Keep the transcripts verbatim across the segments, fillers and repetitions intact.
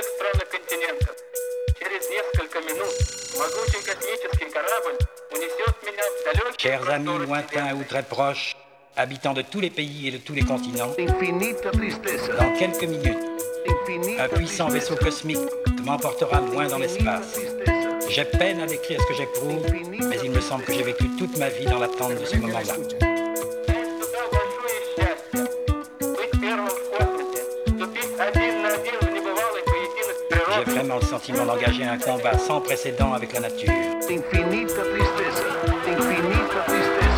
Chers amis lointains ou très proches, habitants de tous les pays et de tous les continents, dans quelques minutes, un puissant vaisseau cosmique m'emportera loin dans l'espace. J'ai peine à décrire ce que j'éprouve, mais il me semble que j'ai vécu toute ma vie dans l'attente de ce moment-là. J'ai vraiment le sentiment d'engager un combat sans précédent avec la nature. Infinita tristeza, infinita tristeza.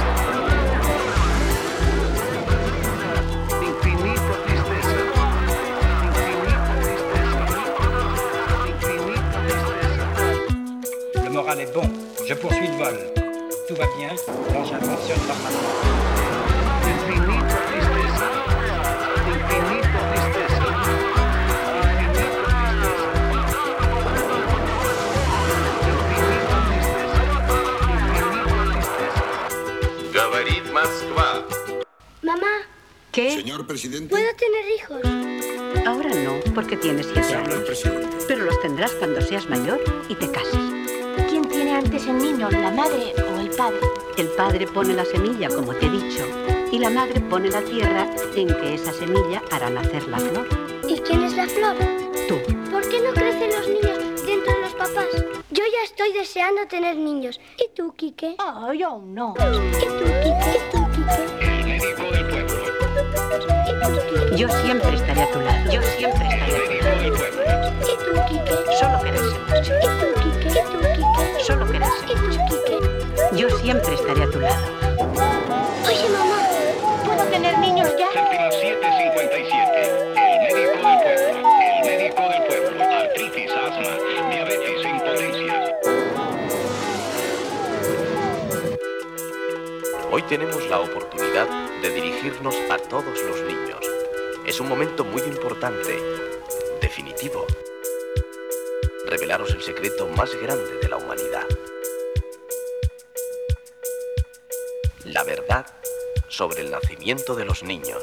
Infinita tristeza. Infinita tristeza. Le moral est bon, je poursuis le vol. Tout va bien, l'engin fonctionne normalement. Infinita tristeza. Infinita tristeza. Говорит Москва. Mamá, ¿Qué? Señor presidente. ¿puedo tener hijos? Ahora no, porque tienes siete Se habla el años. presidente. Pero los tendrás cuando seas mayor y te cases. ¿Quién tiene antes el niño, la madre o el padre? El padre pone la semilla, como te he dicho, y la madre pone la tierra en que esa semilla hará nacer la flor. ¿Y quién es la flor? Tú. ¿Por qué no crecen los niños dentro de los papás? Yo ya estoy deseando tener niños. ¿Y tú, Quique? Ah, yo aún no. ¿Y tú, Quique? ¿Y tú, Quique? El médico del pueblo. ¿Y tú, Quique? Yo siempre estaré a tu lado. Yo siempre estaré a tu Médico del pueblo. ¿Y tú, Quique? Solo quererse mucho. ¿Y tú, Quique? ¿Y tú, Quique? Solo quererse ¿Y tú, Quique? Yo siempre estaré a tu lado. Oye, mamá, ¿puedo tener niños ya? Séptima siete cincuenta y siete. El médico del pueblo. El médico del pueblo. Artritis, asma, diabetes, impotencia. Hoy tenemos la oportunidad de dirigirnos a todos los niños. Es un momento muy importante, definitivo. Revelaros el secreto más grande de la humanidad. La verdad sobre el nacimiento de los niños.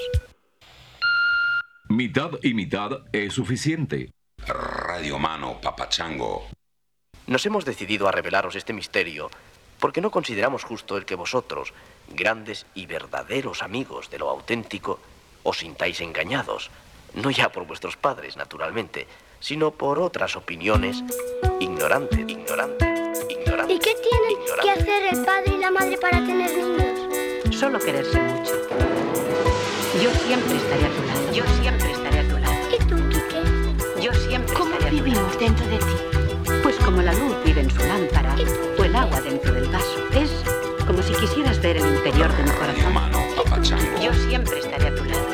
Mitad y mitad es suficiente. Radio Mano, Papachango. Nos hemos decidido a revelaros este misterio porque no consideramos justo el que vosotros, grandes y verdaderos amigos de lo auténtico, os sintáis engañados, no ya por vuestros padres, naturalmente, sino por otras opiniones ignorantes, ignorantes, ignorantes. ¿Y qué tienen ignorantes. que hacer el padre y la madre para tener niños? Solo quererse mucho. Yo siempre estaré a tu lado. Yo siempre estaré a tu lado. ¿Y tú, Quique? Yo siempre ¿Cómo estaré a tu lado. vivimos dentro de ti? Pues como la luz vive en su lámpara o el agua dentro del vaso. Es como si quisieras ver el interior de mi Radio corazón. Mano, Papachango. Yo siempre estaré a tu lado.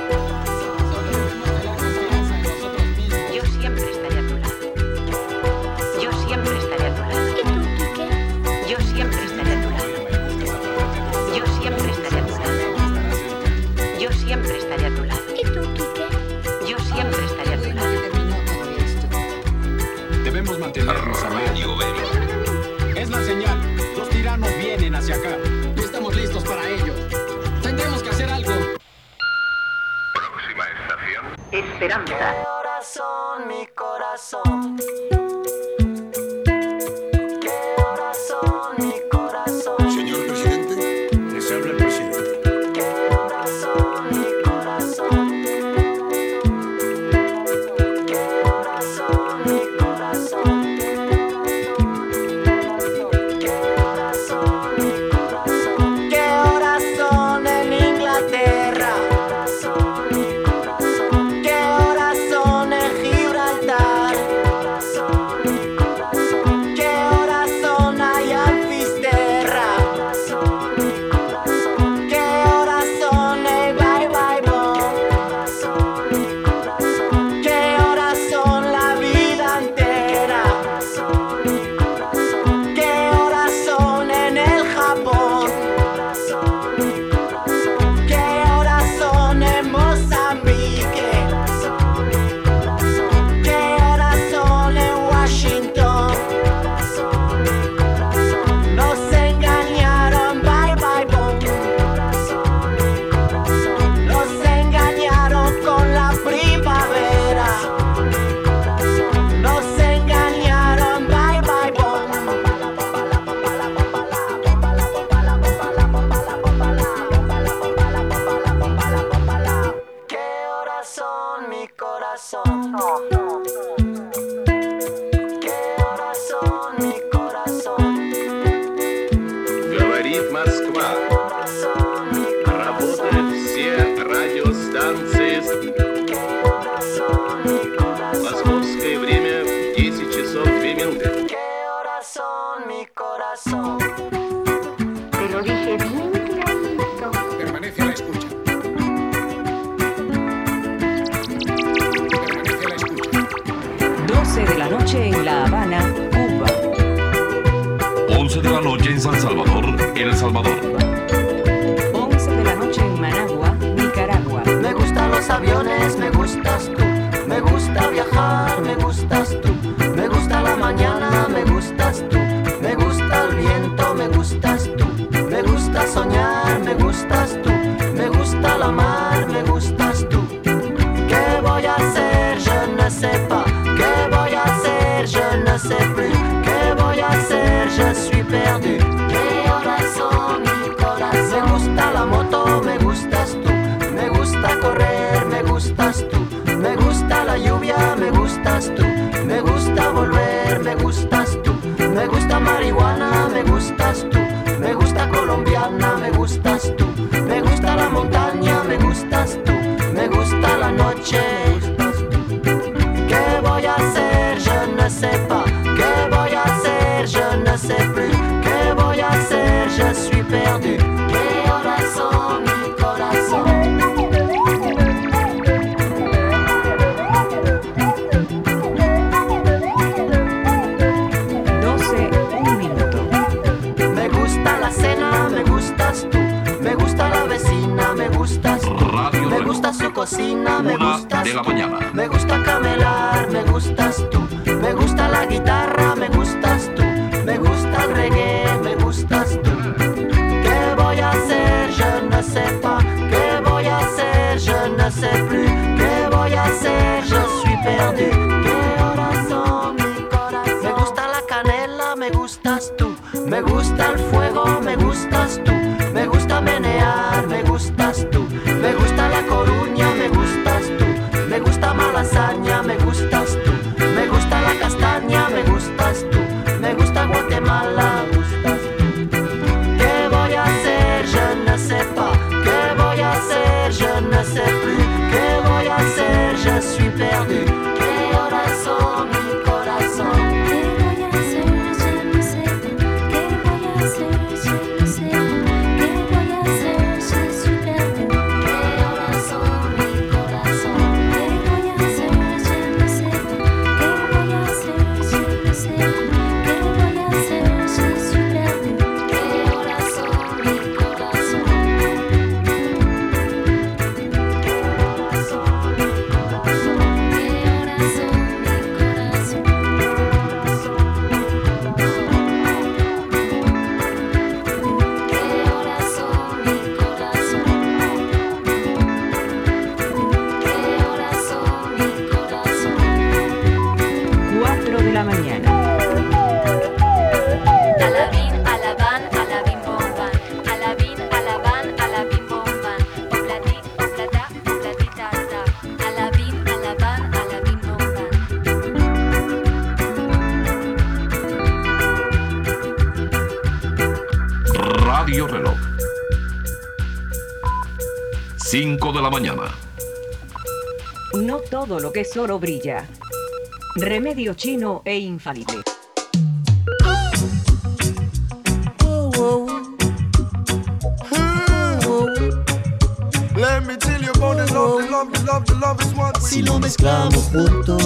Yo siempre estaré a tu lado. Yo siempre estaré a tu lado. ¿Y tú, Quique? Yo siempre estaré a tu lado. Yo siempre estaré a tu lado. Yo siempre estaré a tu lado. ¿Y tú, Quique? Yo siempre estaré a tu lado. Debemos mantenernos a Radio Vemos. Es la señal. Los tiranos vienen hacia acá. Y estamos listos para ellos. Tendremos que hacer algo. Próxima estación. Esperanza. Corazón, mi corazón. ¿Qué horas son, mi corazón? Señor presidente. Se habla el presidente. ¿Qué horas son, mi corazón? ¿Qué horas son, mi corazón? ¿Qué horas son, mi corazón? ¿Qué horas son en Inglaterra? ¿Qué horas son, mi corazón? ¿Qué horas son en Gibraltar? ¿Qué horas son? corazón. ¿Qué horas son, mi corazón? Говорит Москва. Работают все радиостанции. Московское время десять часов две минуты. ¿Qué horas son, mi corazón? Te lo dije bien clarito. Permanece a la escucha. Permanece a la escucha. doce de la noche en La Habana, Cuba. once de la noche en San Salvador, El Salvador. once de la noche en Managua, Nicaragua. Me gustan los aviones, me gustas tú. Me gusta viajar, me gustas tú. Me gusta la mañana, me gustas tú. Me gusta el viento, me gustas tú. Me gusta soñar, me gustas tú. Me gusta la mar, me gustas tú. ¿Qué voy a hacer? Je ne sais pas. ¿Qué voy a hacer? Je ne sais plus. ¿Qué voy a hacer? Je suis perdu. ¿Qué horas son, mi corazón? Me gusta la moto, me gustas tú. Me gusta correr, me gustas tú. Me gusta la lluvia, me gustas tú. Me gusta volver, me gustas tú. Me gusta marihuana, me gustas tú. Me gusta colombiana, me gustas tú. Me gusta la montaña, me gustas tú. Me gusta la noche. ¿Qué voy a hacer? Je ne sais pas. ¿Qué voy a hacer? Je ne sais plus. ¿Qué voy a hacer? Je suis perdu. ¿Qué horas son, mi corazón? doce, un minuto. Me gusta la cena, me gustas tú. Me gusta la vecina, me gustas tú. Radio Me Reloj. gusta su cocina, me Una gustas de la tú. mañana. Me gusta camelar, me gustas tú. Me gusta la guitarra, me gustas tú. Me gusta el reggae, me gustas tú. ¿Qué voy a hacer? Je ne sais pas. ¿Qué voy a hacer? Je ne sais plus. ¿Qué voy a hacer? Je suis perdu. ¿Qué horas son, mi corazón? Me gusta la canela, me gustas tú. Me gusta el fuego, me gustas tú. Me gusta menear, me gustas tú. Me gusta la Coruña, me gustas tú. Me gusta Malasaña, me gustas tú. Me gusta la castaña, me gustas tú. Me gusta Guatemala, me gustas tú. ¿Qué voy a hacer? Je ne sais pas. ¿Qué voy a hacer? Je ne sais plus. ¿Qué voy a hacer? Je suis perdu. ¿Qué horas son, mi corazón? ¿Qué voy a hacer? Je ne sais pas. ¿Qué voy a hacer? Je ne sais pas. ¿Qué voy a hacer? Je suis perdu. ¿Qué horas son, mi corazón? ¿Qué voy a hacer? Je ne sais pas. ¿Qué voy a hacer? Je ne sais pas. ¿Qué voy a hacer? Je suis perdu. ¿Qué horas son, mi corazón? Radio Reloj. cinco de la mañana. No todo lo que es oro brilla. Remedio chino e infalible. Si lo mezclamos juntos,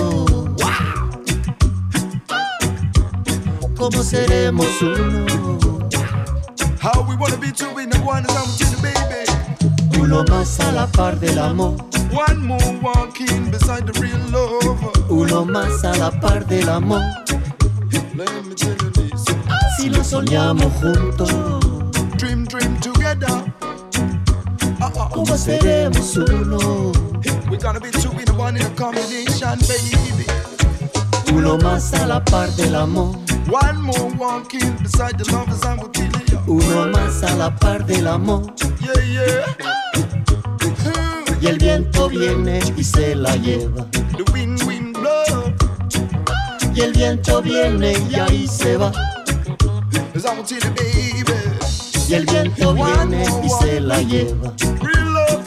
¿cómo seremos uno? How we wanna be two in the one is I'm to the baby. Uno más a la par del amor. One more walking beside the real love. Uno más a la par del amor. Let me tell you this. Si lo soñamos juntos, Dream, dream together. Uh-uh. ¿cómo seremos uno? We're gonna be two in the one in a combination, baby. Uno más a la par del amor. One more walking beside the lovers I'm with you. Uno más a la par del amor. Yeah, yeah. y el viento viene y se la lleva. The wind, wind blow. Y el viento viene y ahí se va. Cause I want to tell you, baby. Y el viento viene y se la lleva. Real love.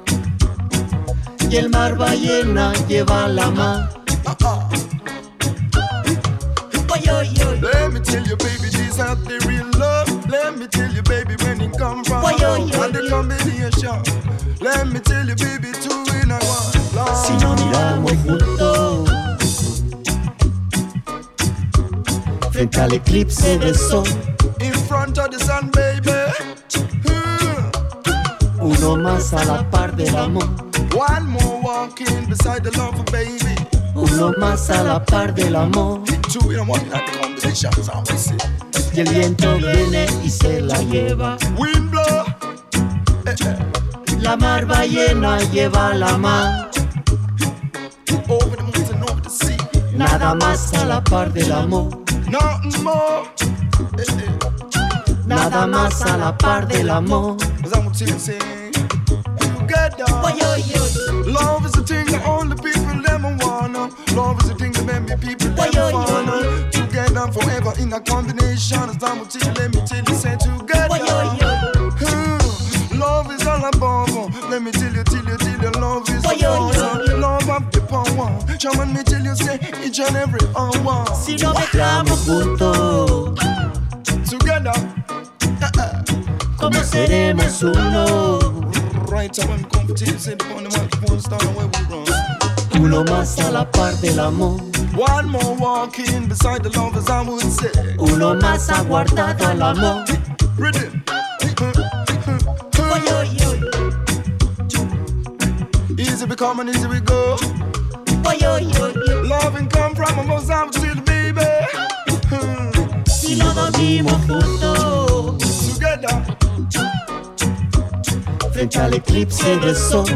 Y el mar ballena lleva la mar. Uh-uh. Let me tell you, baby, this out the real love. Let me tell you, baby, when it come from Oy, oy, and oy, the oy. combination. Let me tell you, baby, two in a one. Love. Si no miramos juntos frente al eclipse del sol, In front of the sun, baby. uno más a la par del amor. One more walking beside the love, baby. Uno más a la par del amor. Two in a one, that combination, so we see. Y el viento viene y se la lleva. Wind blow. Eh, eh. La mar ballena lleva la mar. Over the mountain, over the sea. Nada más a la par del amor. Nothing more. Eh, eh. Nada más a la par del amor. Cause I'm gonna tell you, say, together. Love is the thing that all the people them wanna. Love is the thing that many people them wanna. Together forever in a combination. As I'm gonna tell you, let me tell you, say together. Hmm. Love is all above. Let me tell you, tell you, tell you, love is above. Love of the power. Shaman me tell you, say each and every hour. Si no mezclamos juntos, Together. ¿cómo seremos uno? Right time when we come to tell you, say the phone, the microphone, start where we run. Uno más a la par del amor. One more walking beside the love, as I would say. Uno más aguardado al amor. Rhythm. Easy we come and easy we go. Loving come from above, I would tell the baby. Si no dormimos juntos Together. frente al eclipse del sol,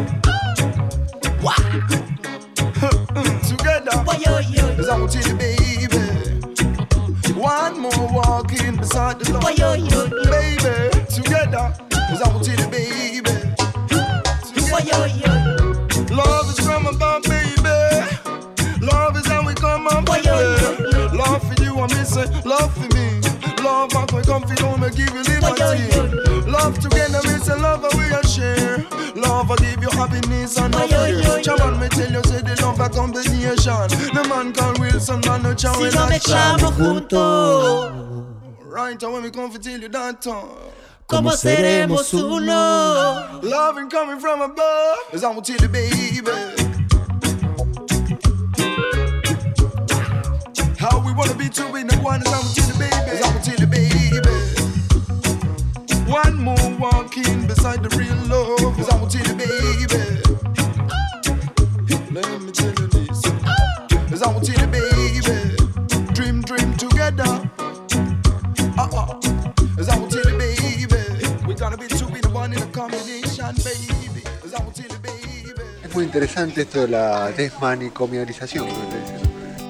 Together. As I would tell the baby. One more walking beside the love, baby. Together. As I would tell the baby. Together. Love is from above, baby. Love is how we come up, baby. Love for you, I miss it. Love for me. Love, I can come feel home and give you liberty. Love together, miss a love we are share. Love, I give you happiness and no fear. Chaman, me tell you, say the love a combination. The man called Wilson, man, no chow si in no that mezclamos juntos, Right, and when we come to tell you that time. ¿cómo seremos uno? Loving coming from above, as I will tell you, baby. How we wanna be two in the one, as I will tell you, baby. As I will tell you, baby. One more walking beside the real love, as I will tell you, baby. Let me tell you this, as I will tell you, baby. Dream, dream together. Uh-uh. As I will tell you, baby. We gotta be two in the one in a combination, baby. As I will tell you, baby. Es muy interesante esto de la desmanicomialización, como le dicen.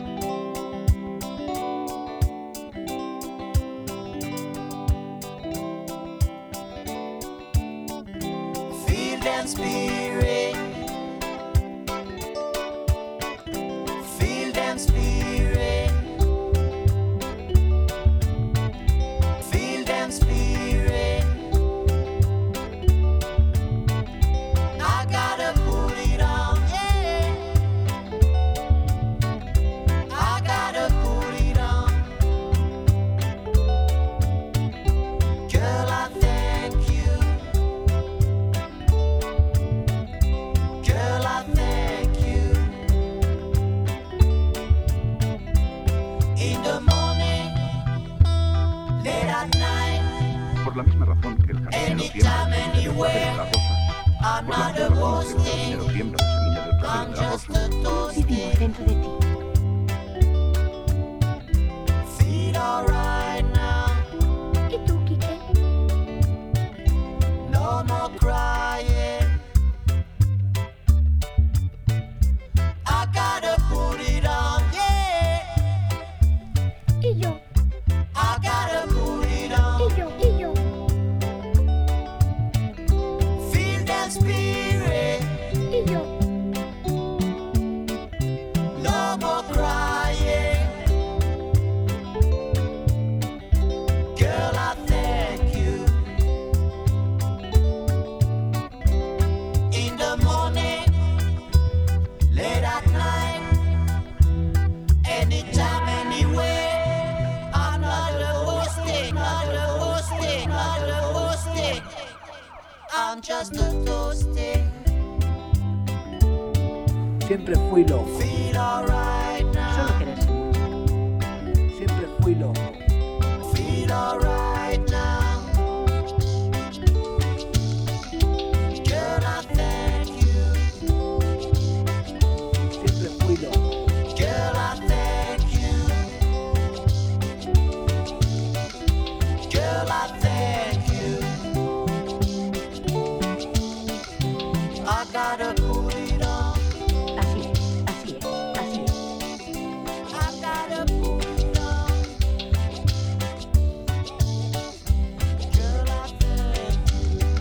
Feel that spirit. Feel that spirit. Feel that spirit. I gotta put it on, yeah. I gotta put it on. Girl, I thank you. Girl, I thank you. In the morning, late at night, Por la misma razón que el jardinero siembra anytime, la semilla del clavel de la rosa, pues la jardinero siembra la semilla del clavel de la rosa. I'm not a boasting. Vivimos dentro de ti. Feel alright now. ¿Y tú, Quique? No more crying. I gotta put it on, yeah. ¿Y yo? I gotta put it on. ¿Y yo? ¿Y yo? Feel that spirit. Siempre fui loco. Solo querer ser mucho. Siempre fui loco. Feel alright now. Girl, I thank you. Siempre fui loco. Girl, I thank you. Girl, I thank you. I gotta put it on. Así es, así es, así es. I gotta put it on. Girl, I thank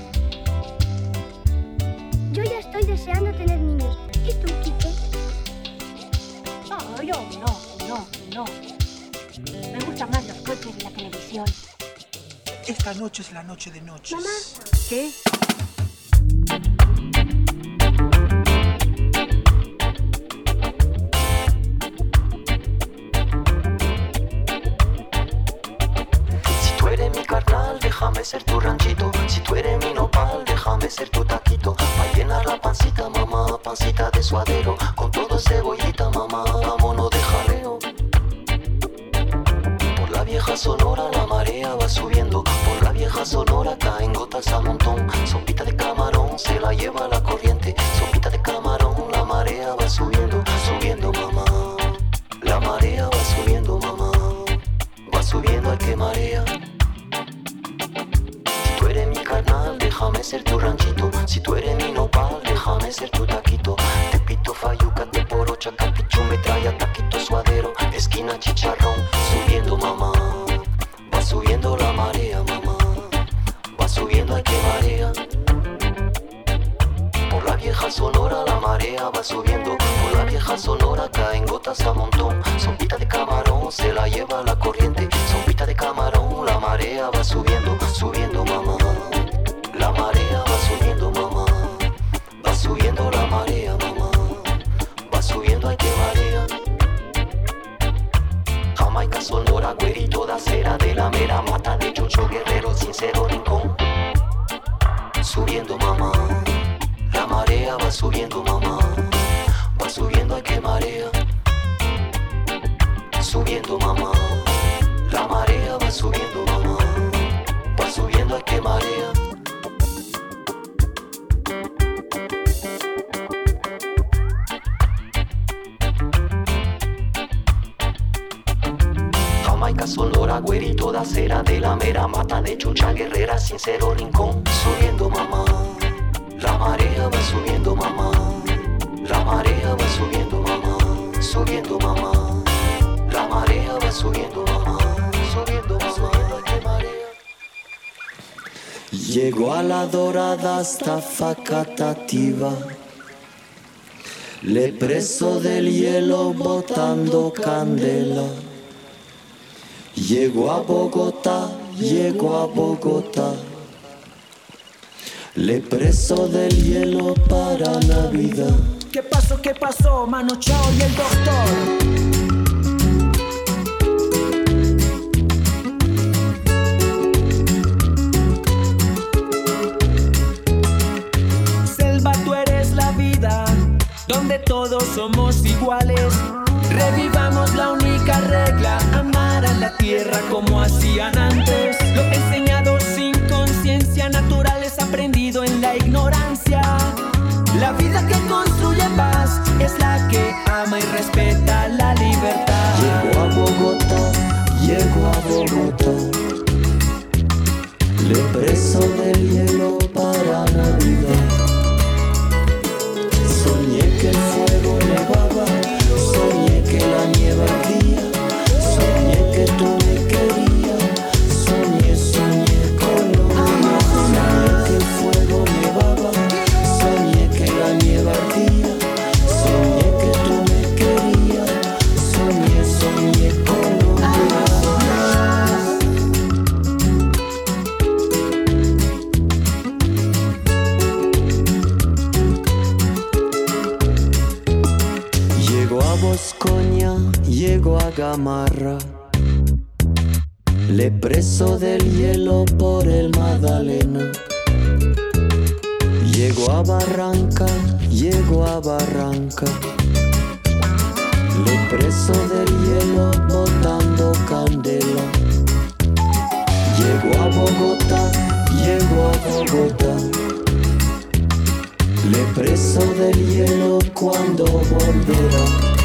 you. Yo ya estoy deseando tener niños. ¿Y tú, Quique? Oh, yo no, no, no. Me gustan más los coches y la televisión. Esta noche es la noche de noches. Mamá. ¿Qué? Si tú eres mi carnal, déjame ser tu ranchito. Si tú eres mi nopal, déjame ser tu taquito. Pa' llenar la pancita, mamá, pancita de suadero. Con todo cebollita, mamá, vámonos de jaleo. Por la vieja Sonora la marea va subiendo. Por la vieja Sonora caen gotas a montón. Sopita de camarón se la lleva la corriente. Sopita de camarón, la marea va subiendo. Subiendo, mamá. La marea va subiendo, mamá. Va subiendo, ay que marea. Si tú eres mi carnal, déjame ser tu ranchito. Si tú eres mi nopal, déjame ser tu taquito. Te pito, fayuca, te porocha, capichu, metralla, taquito, suadero, esquina, chicharrón. Subiendo, mamá. Va subiendo la marea, mamá. Va subiendo, ay que marea. Por la vieja Sonora la marea va subiendo. Por la vieja Sonora caen gotas a montón. Sopita de camarón se la lleva la corriente. Sopita de camarón, la marea va subiendo. Subiendo, mamá. La marea va subiendo, mamá. Va subiendo la marea, mamá. Va subiendo, ay que marea. Jamaica, Sonora, güerito de acera, de la mera mata de Chucho Guerrero, sincero rincón. Subiendo, mamá. La marea va subiendo, mamá. Va subiendo, ay que marea. Subiendo, mamá. La marea va subiendo, mamá. Va subiendo, ay que marea. Jamaica, Sonora, güerito de acera, de la mera mata de Chucha Guerrera, sincero rincón. Subiendo, mamá. La marea va subiendo, mamá. La marea va subiendo, mamá. Subiendo, mamá. La marea va subiendo, mamá. Subiendo, mamá. ¡Qué marea! Llegó a la dorada hasta Facatativa. Le preso del hielo botando candela. Llegó a Bogotá, llegó a Bogotá. Le preso del hielo para Navidad. ¿Qué pasó, qué pasó, Mano Chao y el doctor? Selva, tú eres la vida, donde todos somos iguales. Revivamos la única regla, amar a la tierra como hacían antes. Lo enseñado sin conciencia natural es aprendido en la ignorancia. La vida que construye paz es la que ama y respeta la libertad. Llegó a Bogotá, llegó a Bogotá. Le preso del hielo para Navidad. Soñé que el fuego nevaba, soñé que la nieve ardía, soñé que tú me querías, soñé, soñé Colombia. Soñé que el fuego nevaba, soñé que la nieve ardía, soñé que tú me querías, soñé, soñé Colombia. Llego a Boscoña, llego a Gamarra. Le preso del hielo por el Magdalena. Llego a Barranca, llego a Barranca. preso del hielo botando candela. Llego a Bogotá, llego a Bogotá. Le preso del hielo cuando volverá.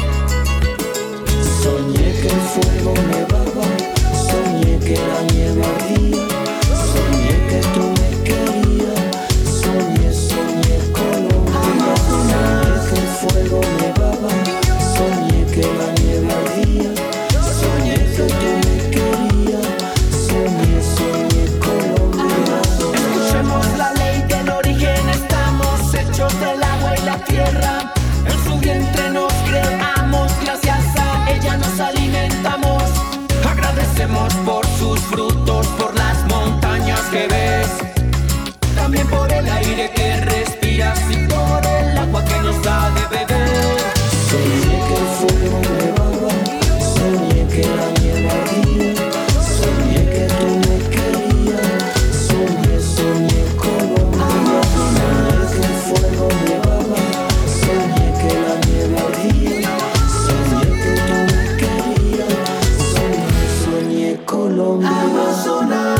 Soñé que el fuego nevaba, soñé que la nieve ardía, soñé que tú me querías, soñé, soñé Colombia. Soñé que el fuego nevaba, soñé que la nieve ardía, soñé que tú me querías, soñé, soñé Colombia. Escuchemos la ley del origen, estamos hechos del agua y la tierra. En su vientre nos creamos, gracias a ella nos alimentamos. Agradecemos por sus frutos, por las montañas que ves, también por el aire que respiras y por el agua que nos da de beber. Soñé que el fuego nevaba, soñé que la nieve ardía, soñé que tú me querías, soñé, soñé Colombia. Soñé que el fuego nevaba, soñé que la nieve ardía, soñé que tú me querías, soñé, soñé Colombia. Amazonas.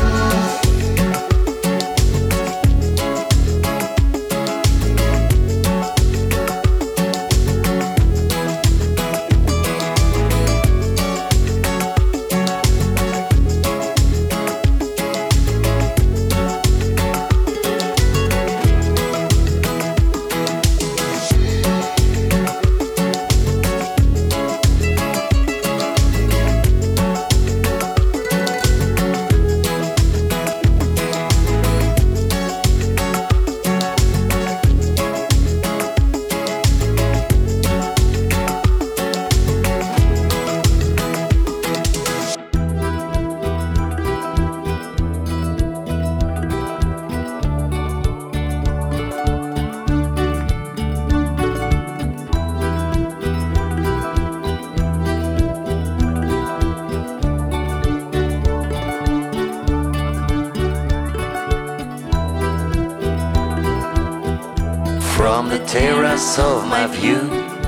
From the terrace of my view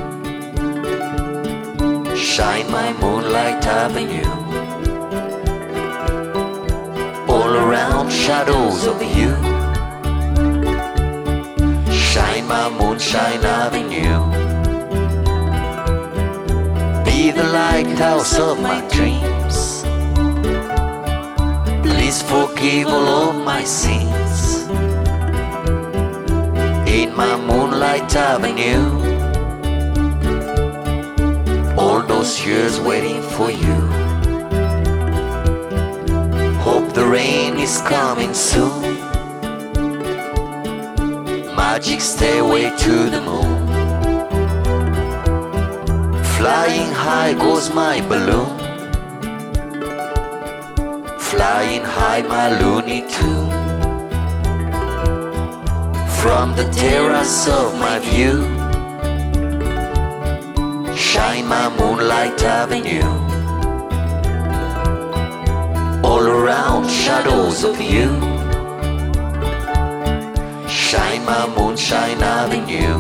shine my moonlight avenue. All around shadows of you shine my moonshine avenue. Be the lighthouse of my dreams. Please forgive all of my sins. In my moonlight avenue, all those years waiting for you. Hope the rain is coming soon. Magic stairway to the moon. Flying high goes my balloon. Flying high my Looney Tune. From the terrace of my view shine my moonlight avenue. All around shadows of you shine my moonshine avenue.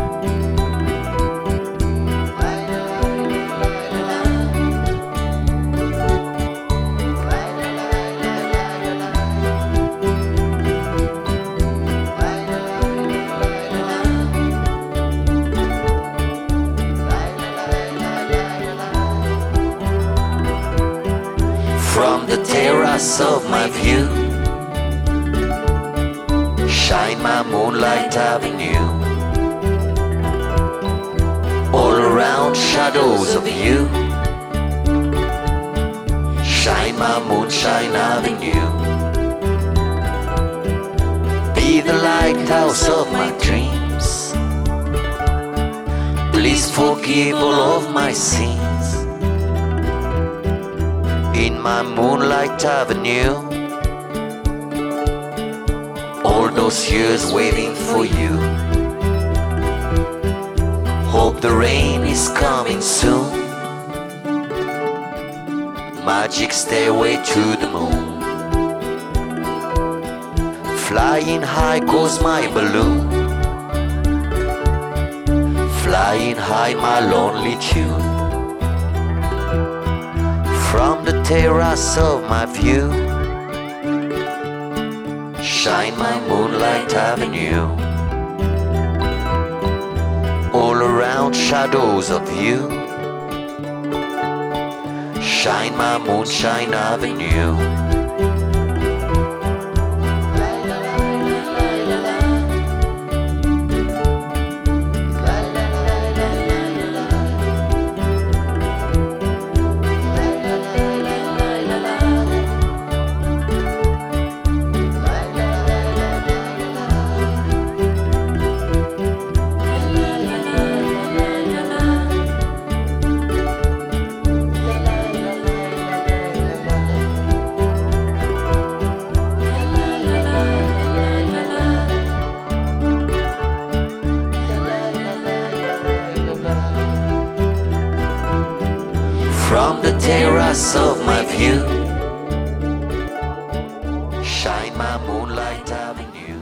From the terrace of my view shine my moonlight avenue. All around shadows of you shine my moonshine avenue. Be the lighthouse of my dreams. Please forgive all of my sins. In my moonlight avenue, all those years waiting for you. Hope the rain is coming soon. Magic stairway to the moon. Flying high goes my balloon. Flying high my lonely tune. the terrace of my view, shine my moonlight avenue. All around shadows of you, shine my moonshine avenue. From the terrace of my view, shine my moonlight avenue.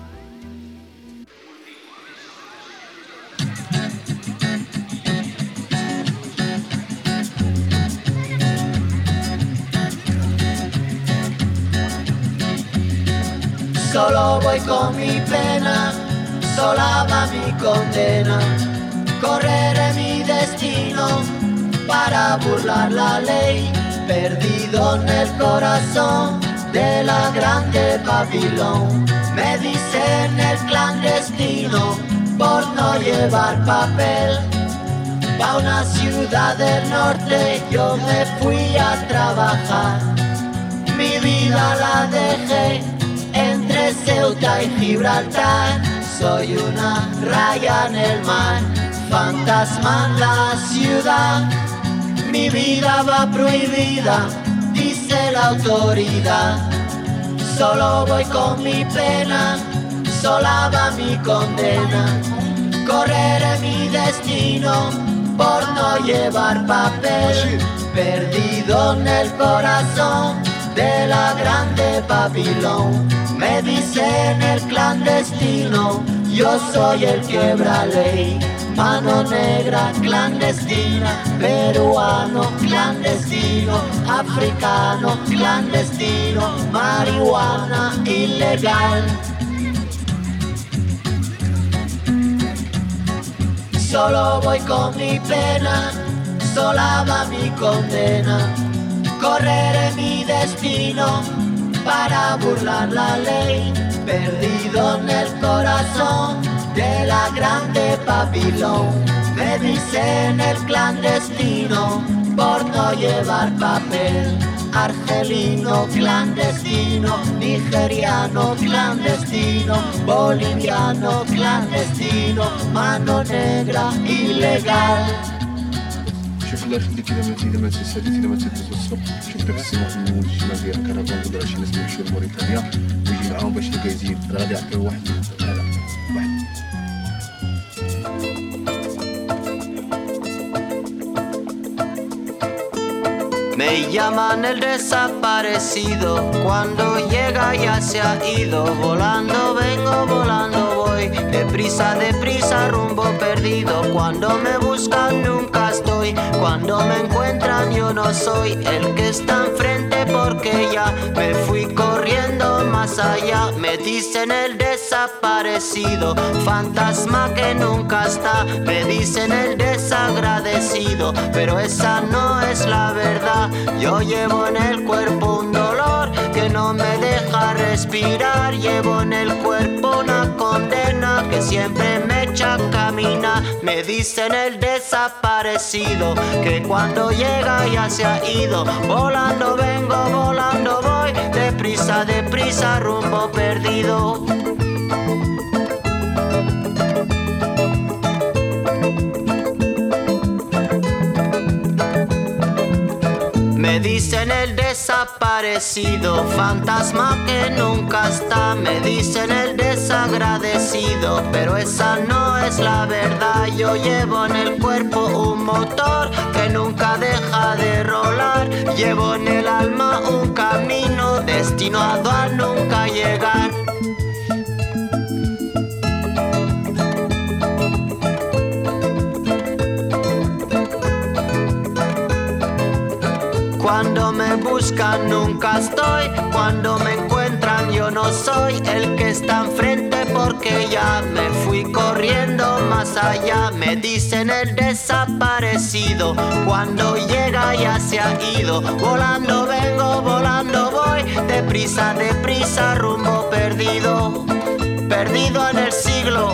Solo voy con mi pena, sola va mi condena. Correré mi destino para burlar la ley, perdido en el corazón de la grande Babilón. Me dicen el clandestino por no llevar papel. Pa' una ciudad del norte yo me fui a trabajar. Mi vida la dejé entre Ceuta y Gibraltar. Soy una raya en el mar, fantasma en la ciudad. Mi vida va prohibida, dice la autoridad. Solo voy con mi pena, sola va mi condena. Correré mi destino por no llevar papel. Perdido en el corazón de la grande Babilón. Me dicen el clandestino, yo soy el quebra ley. Mano negra clandestina, peruano clandestino, africano clandestino, marihuana ilegal. Solo voy con mi pena, sola va mi condena. Correré mi destino para burlar la ley, perdido en el corazón de la grande Babilón. Me dicen el clandestino por no llevar papel. Argelino clandestino, nigeriano clandestino, boliviano clandestino, mano negra ilegal. شوف الله يخليك اذا ما اذا ما تسالي اذا ما تدوز الصبح شوف داك السيمون في المول الشمال ديال الكرفان كل شي ناس يمشيو لموريتانيا ويجي معاهم باش يزيد انا غادي يعطيو واحد لا لا واحد. Me llaman el desaparecido, cuando llega ya se ha ido. Volando vengo, volando voy, deprisa, deprisa, rumbo perdido. Cuando me buscan nunca estoy, cuando me encuentran yo no soy el que está enfrente porque ya me fui corriendo más allá. Me dicen el desaparecido, fantasma que nunca está. Me dicen el desagradecido, pero esa no es la verdad. Yo llevo en el cuerpo un dolor que no me deja respirar. Llevo en el cuerpo una condena que siempre me echa a caminar. Me dicen el desaparecido, que cuando llega ya se ha ido. Volando vengo, volando voy, deprisa, deprisa, rumbo perdido. Me dicen el desaparecido, fantasma que nunca está. Me dicen el desagradecido, pero esa no es la verdad. Yo llevo en el cuerpo un motor que nunca deja de rolar. Llevo en el alma un camino destinado a nunca llegar. Cuando me buscan nunca estoy, cuando me encuentran yo no soy el que está enfrente porque ya me fui corriendo más allá. Me dicen el desaparecido, cuando llega ya se ha ido. Volando vengo, volando voy, deprisa, deprisa, rumbo perdido, perdido en el siglo,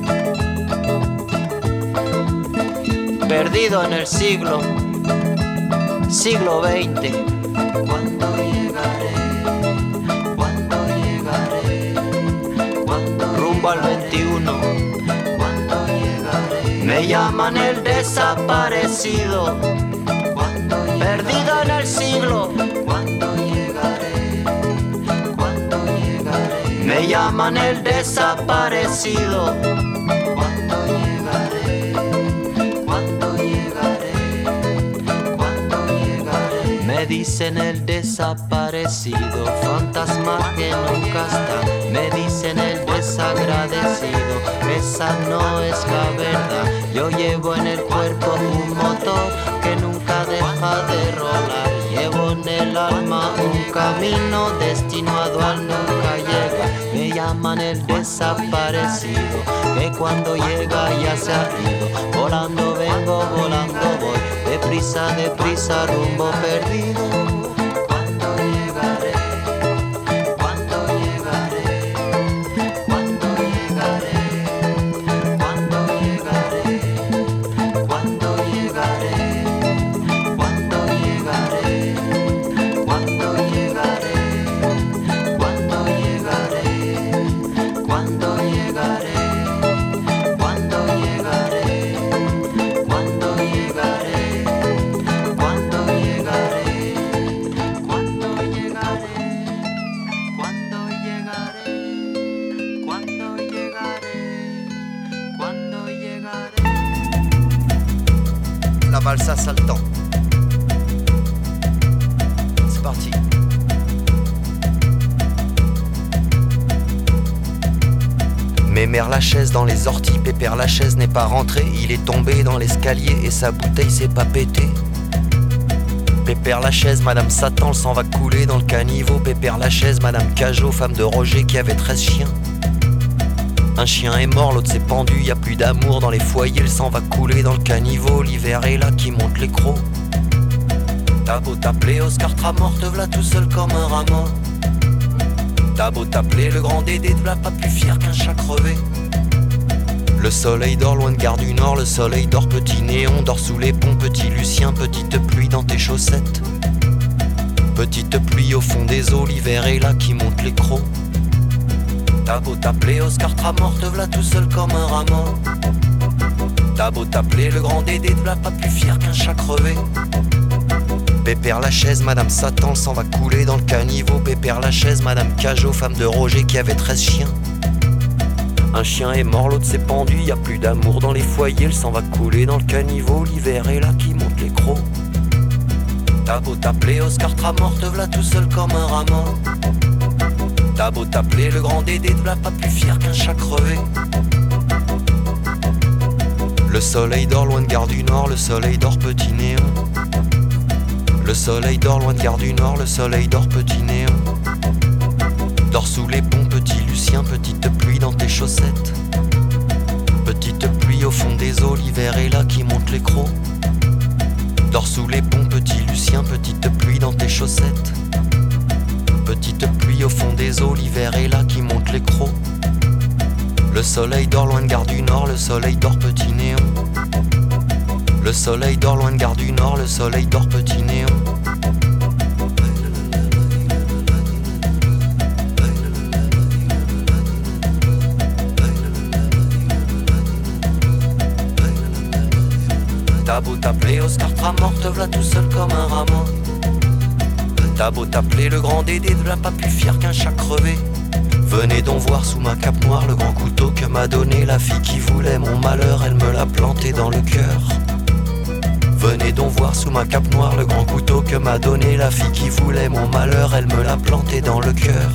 perdido en el siglo. Siglo veinte. ¿Cuándo llegaré? ¿Cuándo llegaré? ¿Cuándo rumbo al veintiuno? ¿Cuándo llegaré? Me llaman el desaparecido. ¿Cuándo llegaré? Perdido en el siglo. ¿Cuándo llegaré? ¿Cuándo llegaré? Me llaman el desaparecido. ¿Cuándo llegaré? ¿Cuándo llegaré? Me dicen el desaparecido, fantasma que nunca está. Me dicen el desagradecido, esa no es la verdad. Yo llevo en el cuerpo un motor que nunca deja de rolar. Llevo en el alma un camino, destino a dual nunca llega. Me llaman el desaparecido, que cuando llega ya se ha ido. Volando vengo, volando voy, deprisa, deprisa, rumbo perdido. ¿Cuándo llegaré? ¿Cuándo llegaré? ¿Cuándo llegaré? ¿Cuándo llegaré? ¿Cuándo llegaré? ¿Cuándo llegaré? ¿Cuándo llegaré? ¿Cuándo llegaré? ¿Cuándo llegaré? ¿Cuándo llegaré? ¿Cuándo llegaré? ¿Cuándo llegaré? ¿Cuándo llegaré? ¿Cuándo llegaré? ¿Cuándo llegaré? ¿Cuándo llegaré? La valse saltant. C'est parti. Mémère Lachaise dans les orties, Pépère Lachaise n'est pas rentré. Il est tombé dans l'escalier et sa bouteille s'est pas pétée. Pépère Lachaise, Madame Satan, le sang va couler dans le caniveau. Pépère Lachaise, Madame Cajot, femme de Roger qui avait treize chiens. Un chien est mort, l'autre s'est pendu, y a plus d'amour dans les foyers, le sang va couler dans le caniveau. L'hiver est là qui monte les crocs. T'as beau t'appeler Oscar Tramort, te v'là tout seul comme un rat mort. T'as beau t'appeler le grand Dédé, te v'là pas plus fier qu'un chat crevé. Le soleil dort loin de Gare du Nord, le soleil dort petit néon, dort sous les ponts, petit Lucien, petite pluie dans tes chaussettes. Petite pluie au fond des eaux, l'hiver est là qui monte les crocs. T'as beau t'appeler Oscar Tramort, te v'là tout seul comme un rat mort. T'as beau t'appeler le grand Dédé, te v'là pas plus fier qu'un chat crevé. Pépère Lachaise, Madame Satan, le sang va couler dans le caniveau. Pépère Lachaise, Madame Cajot, femme de Roger qui avait treize chiens. Un chien est mort, l'autre s'est pendu, y a plus d'amour dans les foyers, le sang va couler dans le caniveau. L'hiver est là qui monte les crocs. T'as beau t'appeler Oscar Tramort, te v'là tout seul comme un rat mort. T'as beau t'appeler le grand Dédé, te v'là pas plus fier qu'un chat crevé. Le soleil dort loin de Gare du Nord, le soleil dort petit néon. Le soleil dort loin de Gare du Nord, le soleil dort petit néon. Dors sous les ponts, petit Lucien, petite pluie dans tes chaussettes. Petite pluie au fond des eaux, l'hiver est là qui monte les crocs. Dors sous les ponts, petit Lucien, petite pluie dans tes chaussettes. Petite pluie au fond des eaux, l'hiver est là qui monte les crocs. Le soleil dort loin de Gare du Nord, le soleil dort petit néon. Le soleil dort loin de Gare du Nord, le soleil dort petit néon. T'as beau t'appeler Oscar Tramort, te v'là tout seul comme un rat mort. T'as beau t'appeler le grand Dédé, te v'là pas plus fier qu'un chat crevé. Venez donc voir sous ma cape noire le grand couteau que m'a donné la fille qui voulait mon malheur, elle me l'a planté dans le cœur. Venez donc voir sous ma cape noire le grand couteau que m'a donné la fille qui voulait mon malheur, elle me l'a planté dans le cœur.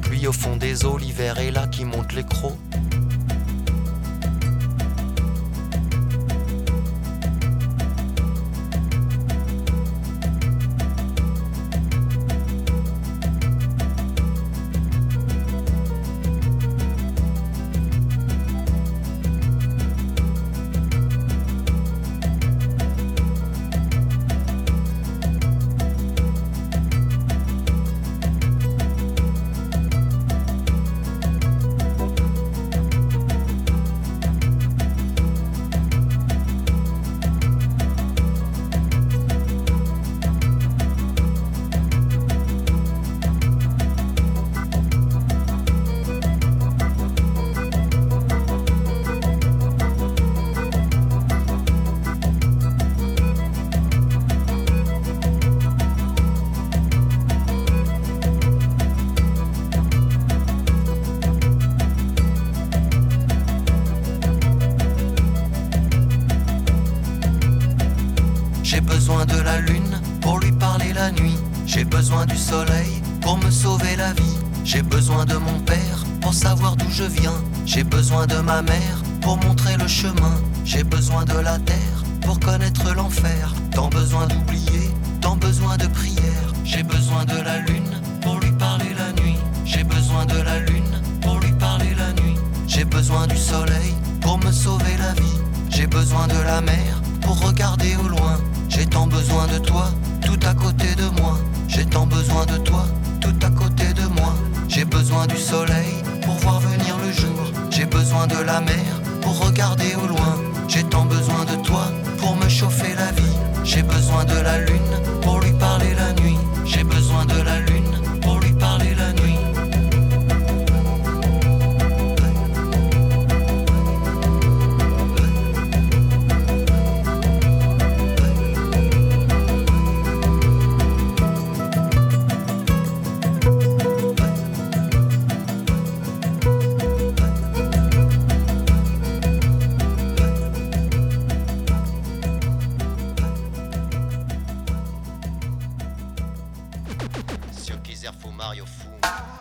Puis au fond des eaux, l'hiver est là qui monte les crocs. J'ai besoin de la lune pour lui parler la nuit. J'ai besoin du soleil pour me sauver la vie. J'ai besoin de mon père pour savoir d'où je viens. J'ai besoin de ma mère pour montrer le chemin. J'ai besoin de la terre pour connaître l'enfer. Tant besoin d'oublier, tant besoin de prière. J'ai besoin de la lune pour lui parler la nuit. J'ai besoin de la lune pour lui parler la nuit. J'ai besoin du soleil pour me sauver la vie. J'ai besoin de la mer pour regarder au loin. J'ai tant besoin de toi, tout à côté de moi. J'ai tant besoin de toi, tout à côté de moi. J'ai besoin du soleil pour voir venir le jour. J'ai besoin de la mer pour regarder au loin. J'ai tant besoin de toi pour me chauffer la vie. J'ai besoin de la lune pour lui parler la nuit. J'ai besoin de la lune pour lui parler la nuit. Se eu quiser fumar, eu fumo.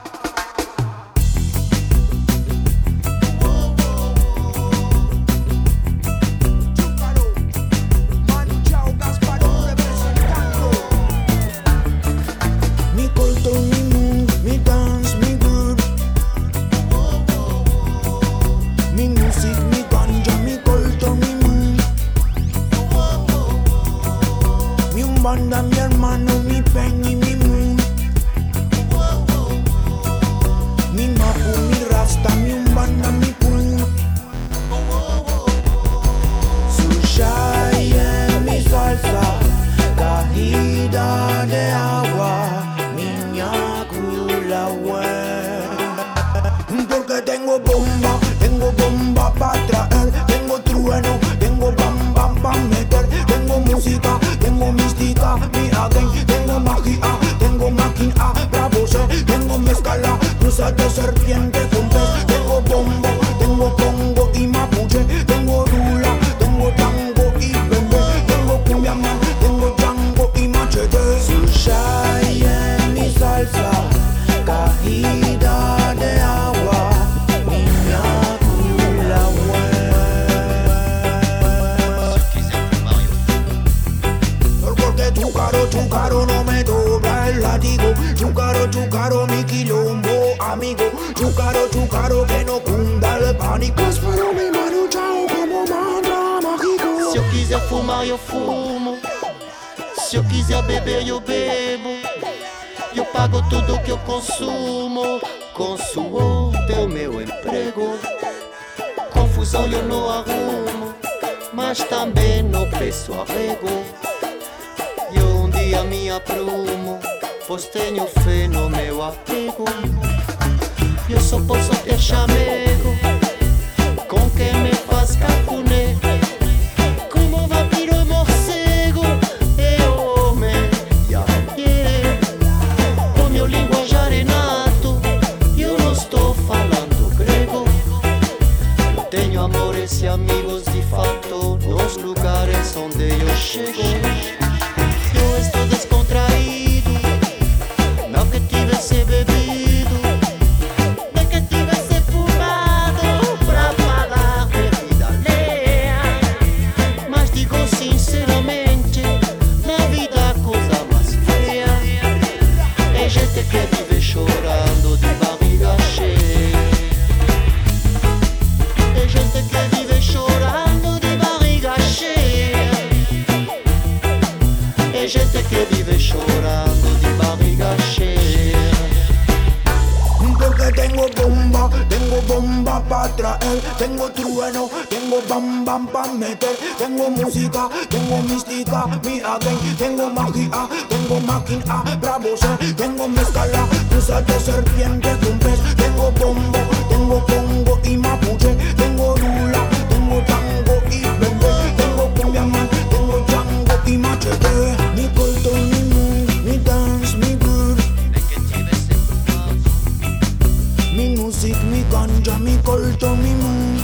Mi culto, mi mood, mi dance, mi groove. Mi music, mi ganja, mi culto, mi mood. Mi umbanda, mi hermano, mi penny, mi mood. Mi mapu, mi rasta, mi umbanda, mi cool. Sushaya, mi salsa, cajita de agua. Porque tengo bomba, tengo bomba para traer. Tengo trueno, tengo bam bam pa' meter. Tengo música, tengo mística, mi again. Tengo magia, tengo máquina, bravo sé. Tengo mezcala, cruzas de serpiente con pez. Tengo bombo, tengo congo y mapuche. Tengo rula, tengo tango y bebé. Tengo cumbia man, tengo tango y machete. Sushaya, mi salsa, cajita de agua, niña cula porque tu caro, tu caro no me dobla el látigo. Tu caro, tu caro mi quilombo, amigo. Tu caro, tu caro que no cunda el pánico. Espero mi mano, chao, como mantra mágico. Se eu quiser fumar, eu fumo. Se eu quiser beber, eu bebo. Eu pago tudo que eu consumo. Com suor teu meu emprego. Confusão eu não arrumo, mas também não peço arrego. Eu um dia me aprumo, pois tenho fé no meu apego. Eu só posso ter chamego com quem me faz cafuné. Como vampiro morcego, eu homem, yeah, yeah. O meu linguajar é nato, eu não estou falando grego. Eu tenho amores e amigos de fato nos lugares onde eu chego. Eu estou descontraído, não que tivesse bebido. bomba, tengo bomba pa' traer. Tengo trueno, tengo bam bam pa' meter. Tengo música, tengo mística, mi again. Tengo magia, tengo máquina, bravo ser. Tengo mezcala, cruzas de serpiente con pez. Tengo bombo, tengo congo y mapuche. Tengo lula, tengo tango y bebé. Tengo cumbia man, tengo chango y machete. Mi corto, mi moon, mi dance, mi groove. Mi music, mi ganja, mi corto, mi moon.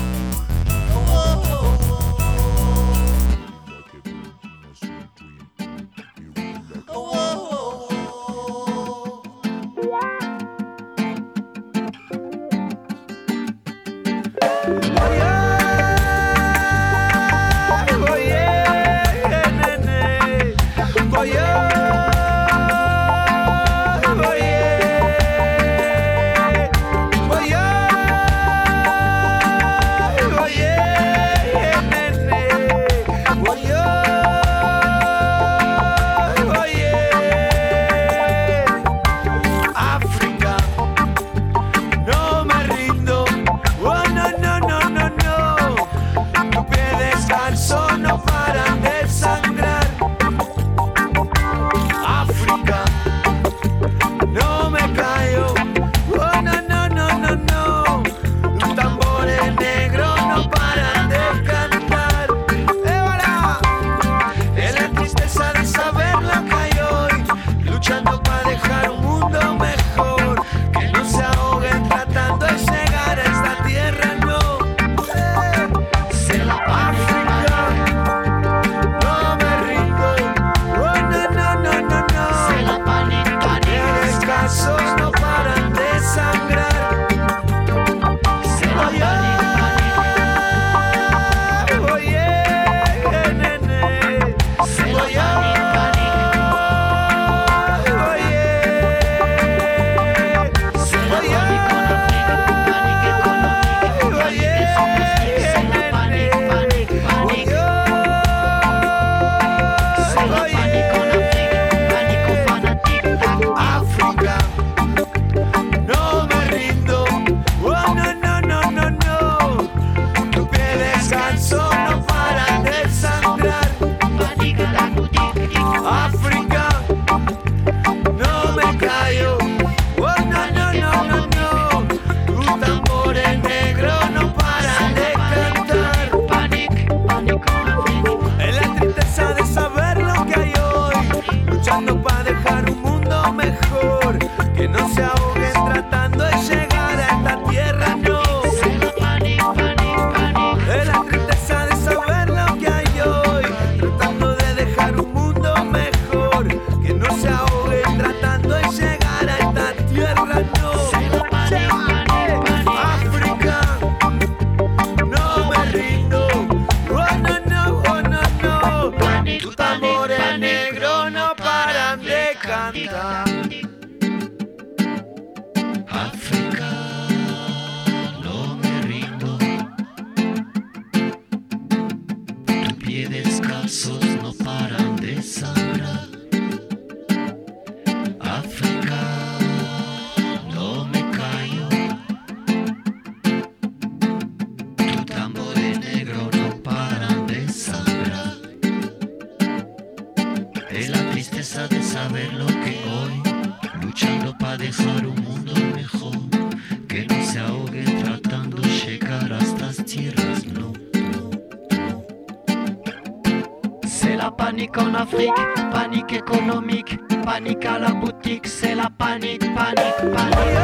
Panique en Afrique, panique économique, panique à la boutique, c'est la panique, panique, panique.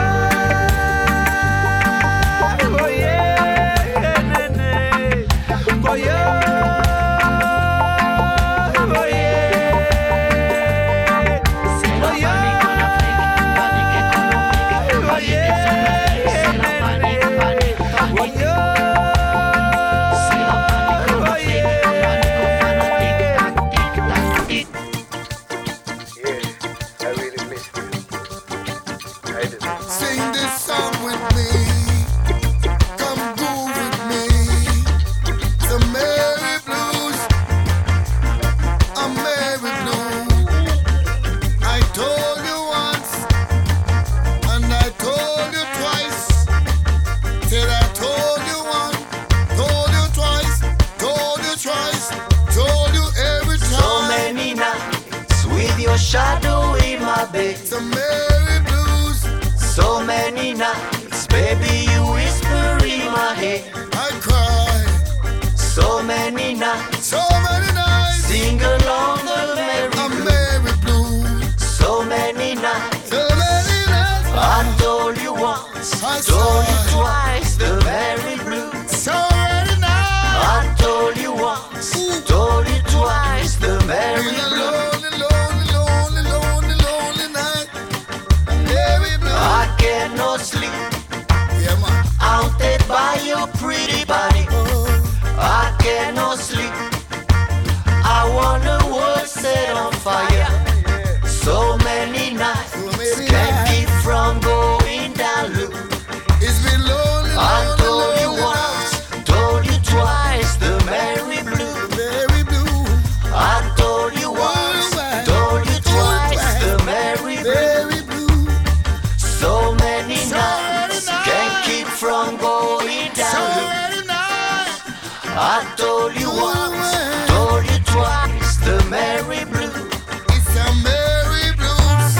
Oh yeah, nene. Oh yeah. Sing So many nights, baby, you whisper in my head. I cry. So many nights, So many nights. sing along the merry I'm blues. very blue. So many nights, So many nights. I told you once, I told you saw. twice, the merry blues. So many nights. I told you once, told you twice, the merry In a blues. lonely, lonely, lonely, lonely, lonely night. I'm very blue. I cannot sleep, Yeah, man. haunted by your pretty body. I cannot sleep. I want the world set on fire. So many nights, many can't nights. keep from going down loop. It's been lonely, I lonely, told you lonely once, night. told you twice, the merry blue. Very blue. I told you once, told you twice, the merry blue. Very blue. So many So nights, many can't nights. keep from going So down loop. many nights. I told you once, told you twice, the merry blue. It's a merry blues.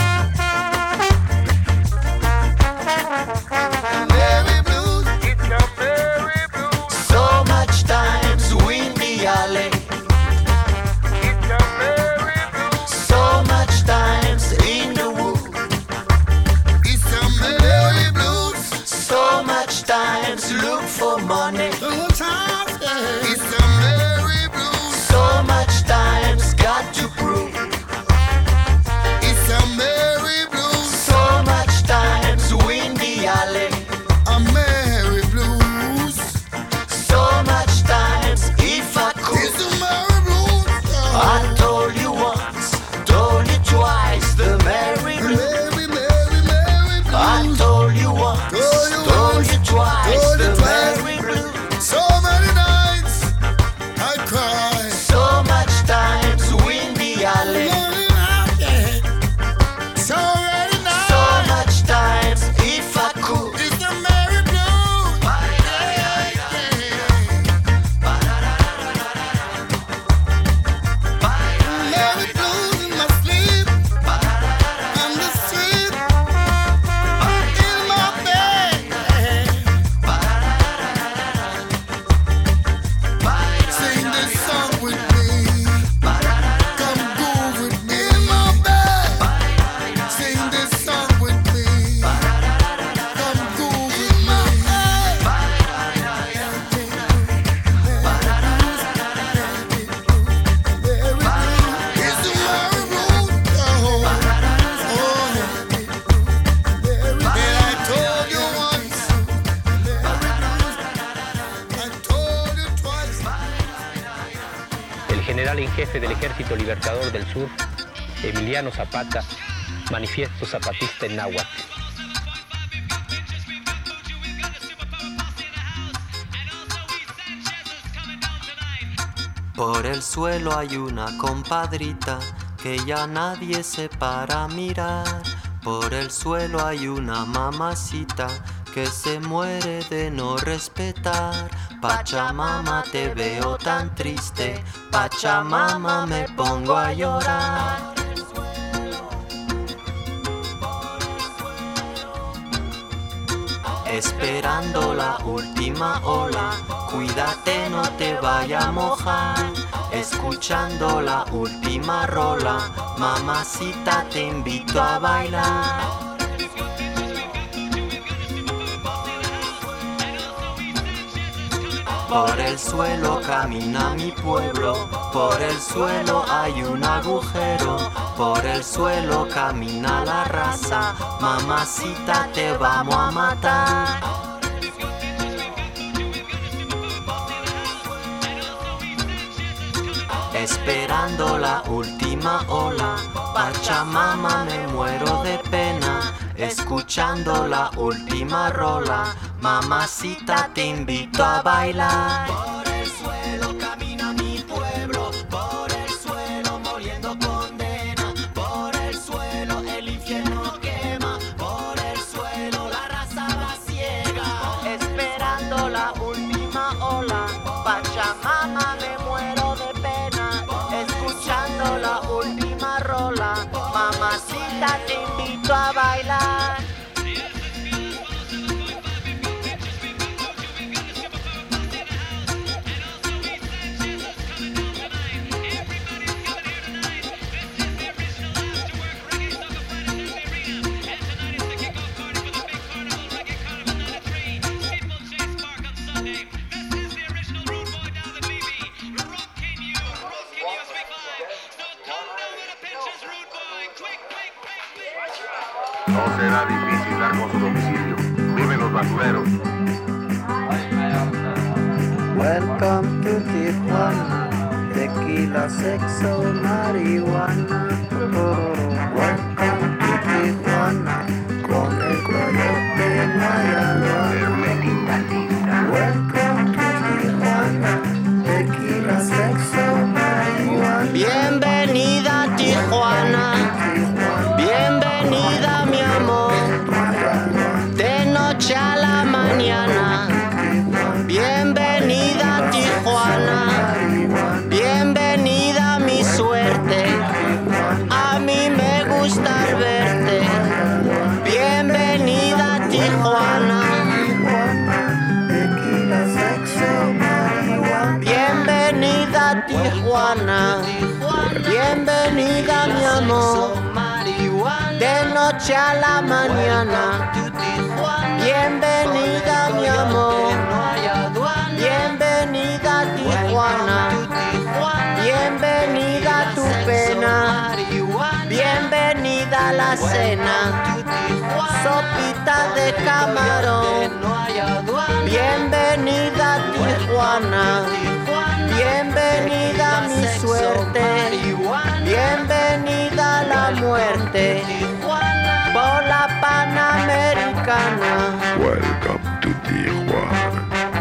Merry blues. It's a merry blues. So much times windy alley. It's a merry blues. So much times in the wood. It's a merry blues. So much times look for money. Sometimes it's a merry blues. So much times got to prove. It's a merry blues. So much times windy alley. A merry blues. So much times if I could. It's a merry blues. I told you once, told you twice, the merry blue. Merry, merry, merry I blues. told you once, Told you told once, you twice, told you the twice. merry blue. So many nights I cry. So much times windy alley. Lonely night, yeah. So many nights. So much times if I could. It's a merry blues. Merry blues in my sleep. I'm the sleep in my bed. Sing this song with me. Come groove with me in my bed. Sing this song with me. Come groove with me. It's a merry blues. Oh, oh, and I told you once. I told you twice. El general en jefe del Ejército Libertador del Sur, Emiliano Zapata, manifiesto zapatista en náhuatl. Por el suelo hay una compadrita que ya nadie se para a mirar. Por el suelo hay una mamacita que se muere de no respetar. Pachamama, te veo tan triste. Pachamama, me pongo a llorar. Esperando la última ola, cuídate no te vaya a mojar. Escuchando la última rola, mamacita te invito a bailar. Por el suelo camina mi pueblo, por el suelo hay un agujero, por el suelo camina la raza, mamacita te vamos a matar. Esperando la última ola, Pachamama me muero de pena. Escuchando la última rola, mamacita te invito a bailar. Por el suelo camina mi pueblo, por el suelo moliendo condena, por el suelo el infierno quema, por el suelo la raza va ciega. Esperando la última ola, Pachamama me muero de pena. Escuchando la última rola, mamacita te invito a bailar. No será difícil dar con su domicilio. Viven los basureros. Welcome to Tijuana, tequila, sexo, marihuana. Welcome to Tijuana, con el coyote no hay aduana. Welcome to Tijuana, tequila, sexo, marihuana. Bienvenida a Tijuana, bienvenida mi amor, de noche a la mañana. Bienvenida a Tijuana, bienvenida a mi suerte, a mí me gusta verte. Bienvenida a Tijuana, bienvenida a Tijuana, bienvenida mi amor, de noche a la mañana. Bienvenida mi amor, bienvenida a Tijuana, bienvenida a tu pena, bienvenida a la cena, sopita de camarón. Bienvenida a Tijuana, bienvenida a mi suerte, bienvenida a la muerte, por la Panamericana. Welcome to Tijuana.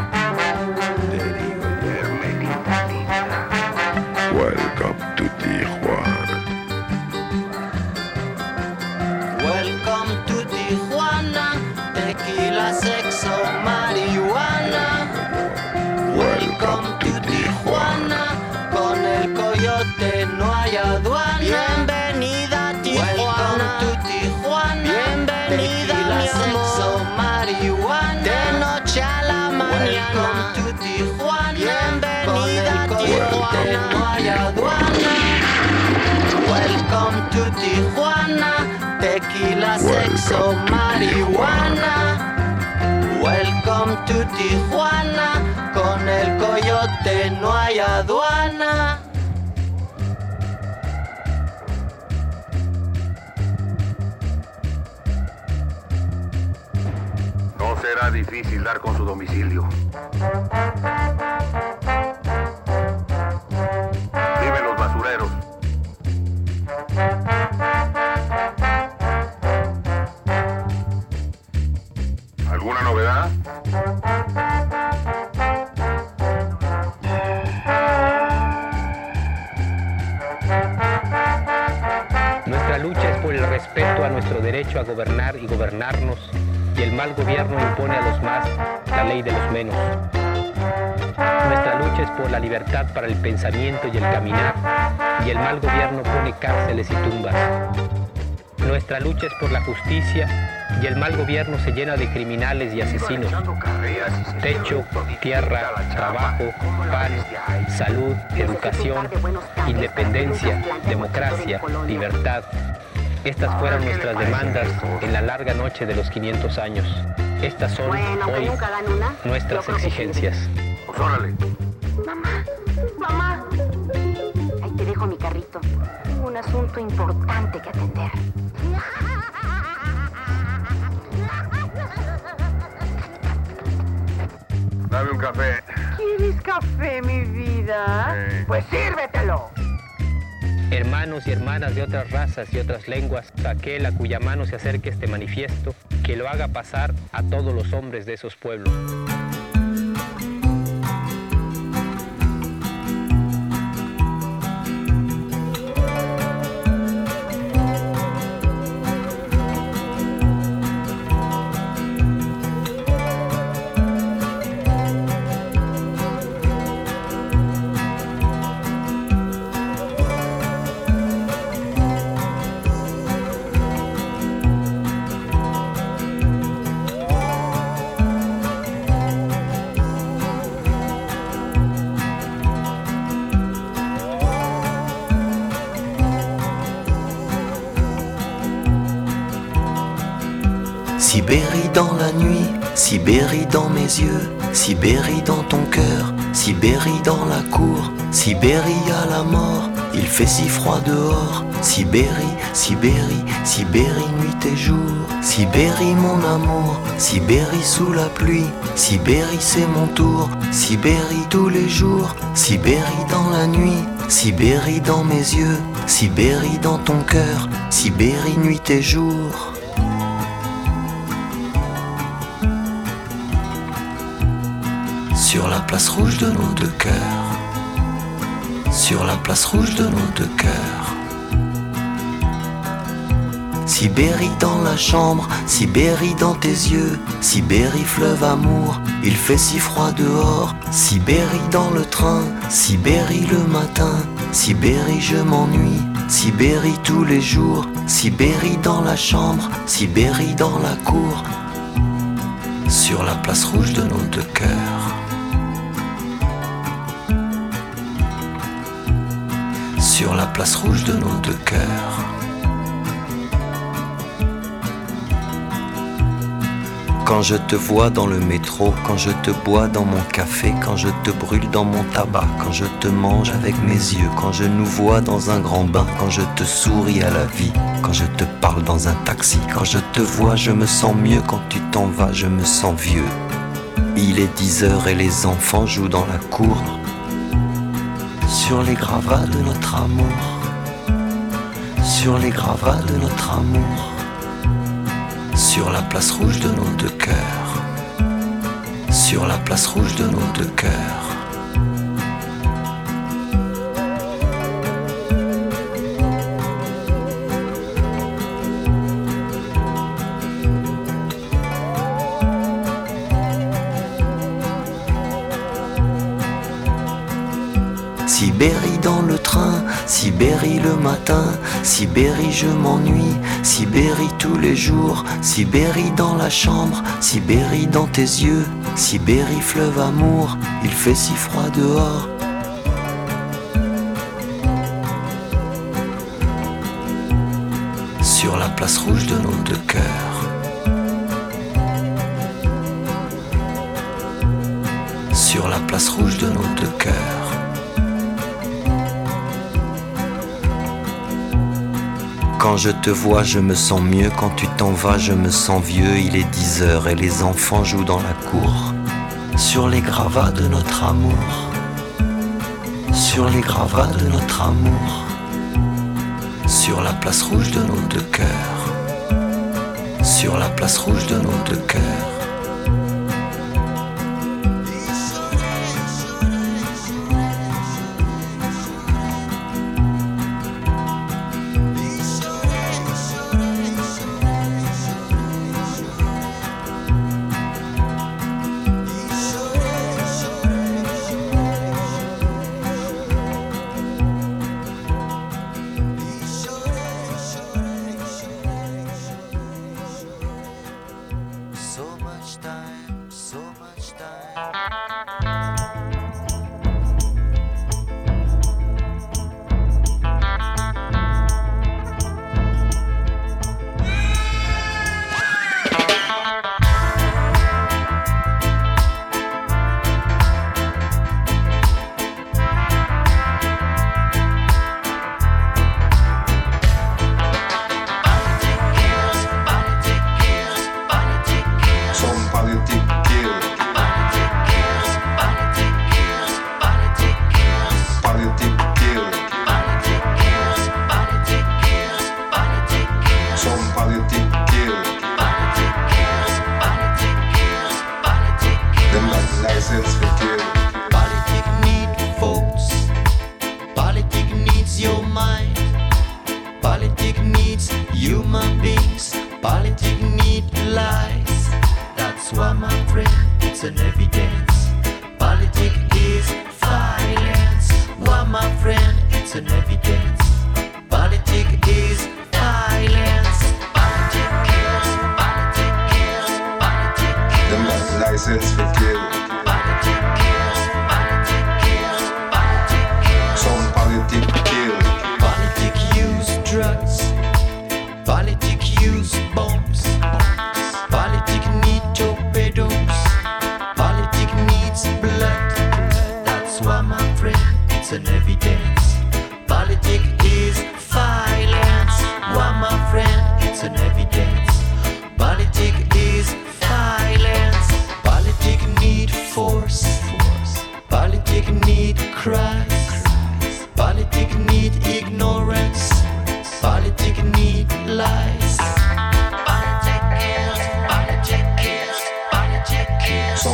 Welcome to Tijuana. Welcome to Tijuana, tequila, sexo, marihuana. Welcome to Tijuana, con el coyote no hay aduana. Bienvenida a Tijuana, bienvenida mi amor, marihuana. De noche a la mañana. Bienvenida a Tijuana, no hay aduana. Welcome to Tijuana, tequila, sexo, marihuana. Welcome to Tijuana, con el coyote no hay aduana. No será difícil dar con su domicilio. Viven los basureros. ¿Alguna novedad? Nuestra lucha es por el respeto a nuestro derecho a gobernar y gobernarnos, y el mal gobierno impone a los más la ley de los menos. Nuestra lucha es por la libertad para el pensamiento y el caminar, y el mal gobierno pone cárceles y tumbas. Nuestra lucha es por la justicia, y el mal gobierno se llena de criminales y asesinos. Techo, tierra, trabajo, pan, salud, educación, independencia, democracia, libertad. Estas fueron nuestras demandas en la larga noche de los quinientos años. Estas son hoy nuestras exigencias. Pues órale. Mamá, mamá. Ahí te dejo mi carrito. Tengo un asunto importante que atender. Dame un café. ¿Quieres café, mi vida? Sí. Pues sírvetelo. Hermanos y hermanas de otras razas y otras lenguas, aquel a cuya mano se acerque este manifiesto, que lo haga pasar a todos los hombres de esos pueblos. Sibérie dans la nuit, Sibérie dans mes yeux, Sibérie dans ton cœur, Sibérie dans la cour, Sibérie à la mort, Il fait si froid dehors, Sibérie, Sibérie, Sibérie nuit et jour. Sibérie mon amour, Sibérie sous la pluie. Sibérie c'est mon tour, Sibérie tous les jours. Sibérie dans la nuit, Sibérie dans mes yeux. Sibérie dans ton cœur, Sibérie nuit et jour. Sur la place rouge de nos deux cœurs, sur la place rouge de nos deux cœurs. Sibérie dans la chambre, Sibérie dans tes yeux. Sibérie fleuve amour, il fait si froid dehors. Sibérie dans le train, Sibérie le matin. Sibérie je m'ennuie, Sibérie tous les jours. Sibérie dans la chambre, Sibérie dans la cour. Sur la place rouge de nos deux cœurs. Sur la place rouge de nos deux cœurs. Quand je te vois dans le métro, quand je te bois dans mon café, quand je te brûle dans mon tabac, quand je te mange avec mes yeux, quand je nous vois dans un grand bain, quand je te souris à la vie, quand je te parle dans un taxi, quand je te vois je me sens mieux, quand tu t'en vas je me sens vieux. Il est dix heures et les enfants jouent dans la cour, sur les gravats de notre amour, sur les gravats de notre amour. Sur la place rouge de nos deux cœurs, sur la place rouge de nos deux cœurs. Sibérie dans le train, Sibérie le matin, Sibérie je m'ennuie, Sibérie tous les jours, Sibérie dans la chambre, Sibérie dans tes yeux, Sibérie fleuve amour, il fait si froid dehors. Sur la place rouge de nos deux cœurs. Sur la place rouge de nos deux cœurs. Quand je te vois, je me sens mieux. Quand tu t'en vas, je me sens vieux. Il est dix heures et les enfants jouent dans la cour. Sur les gravats de notre amour. Sur les gravats de notre amour. Sur la place rouge de nos deux cœurs. Sur la place rouge de nos deux cœurs. It's an evidence. Politics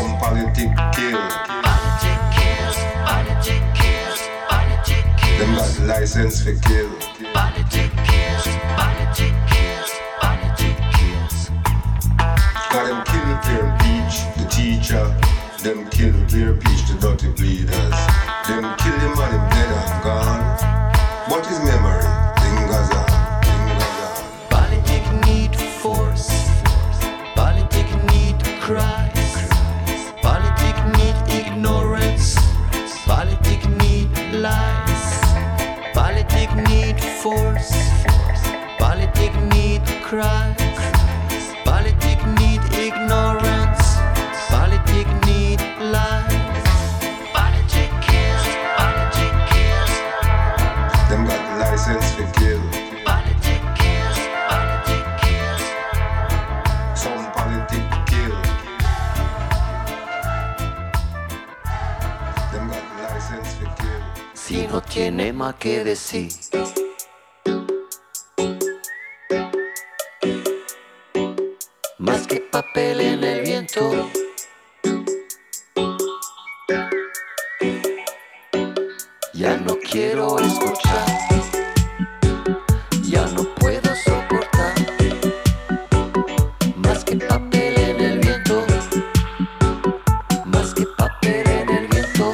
Some politic kill. Politic kills, politic kills, politic kills. Them got license for kill. Politic kills, politic kills, politic kills. Got them kill Pear Peach, the teacher. Them kill Pear Peach, the dirty bleeders. Them kill him and him dead and gone. What is memory? Fingers on, fingers on. Politic need force. Politic need cries. Politic need ignorance. Politic need lies. Politic need force. Politic need cries. Politic need ignorance. Politic need lies. Politic kills. Politic kills. Them got license for kill. Politic kills. Politic kills. Some politic kill. Them got license for kill. Si no tiene más que decir. Más que papel en el viento. Ya no quiero escuchar. Ya no puedo soportar. Más que papel en el viento. Más que papel en el viento.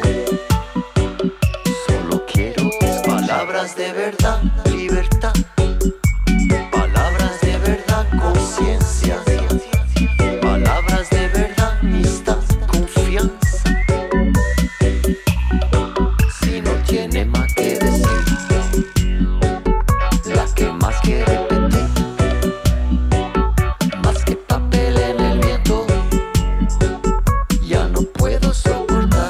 Solo quiero palabras de verdad, libertad. Palabras de verdad, conciencia. Palabras de verdad, amistad, confianza. Si no tiene más que decir, la que más que repetir. Más que papel en el viento. Ya no puedo soportar.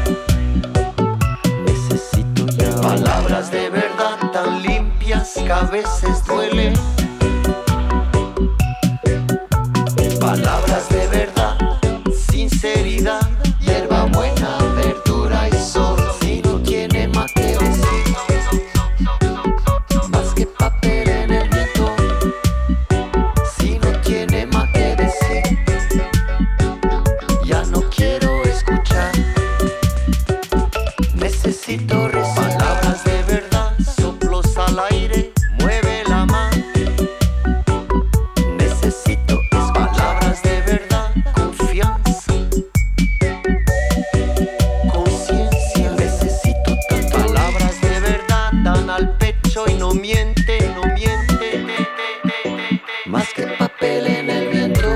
Necesito ya palabras de verdad tan limpias que a veces duelen. Palabras de verdad, sinceridad, hierba buena, verdura y sol. Si no tiene más que decir, más que papel en el viento. Si no tiene más que decir, ya no quiero escuchar. Necesito recibir palabras de verdad, soplos al aire, mueve la mano. Necesito es palabras de verdad, confianza, conciencia. Necesito tan palabras de verdad, dan al pecho y no miente, no miente. Más que papel en el viento.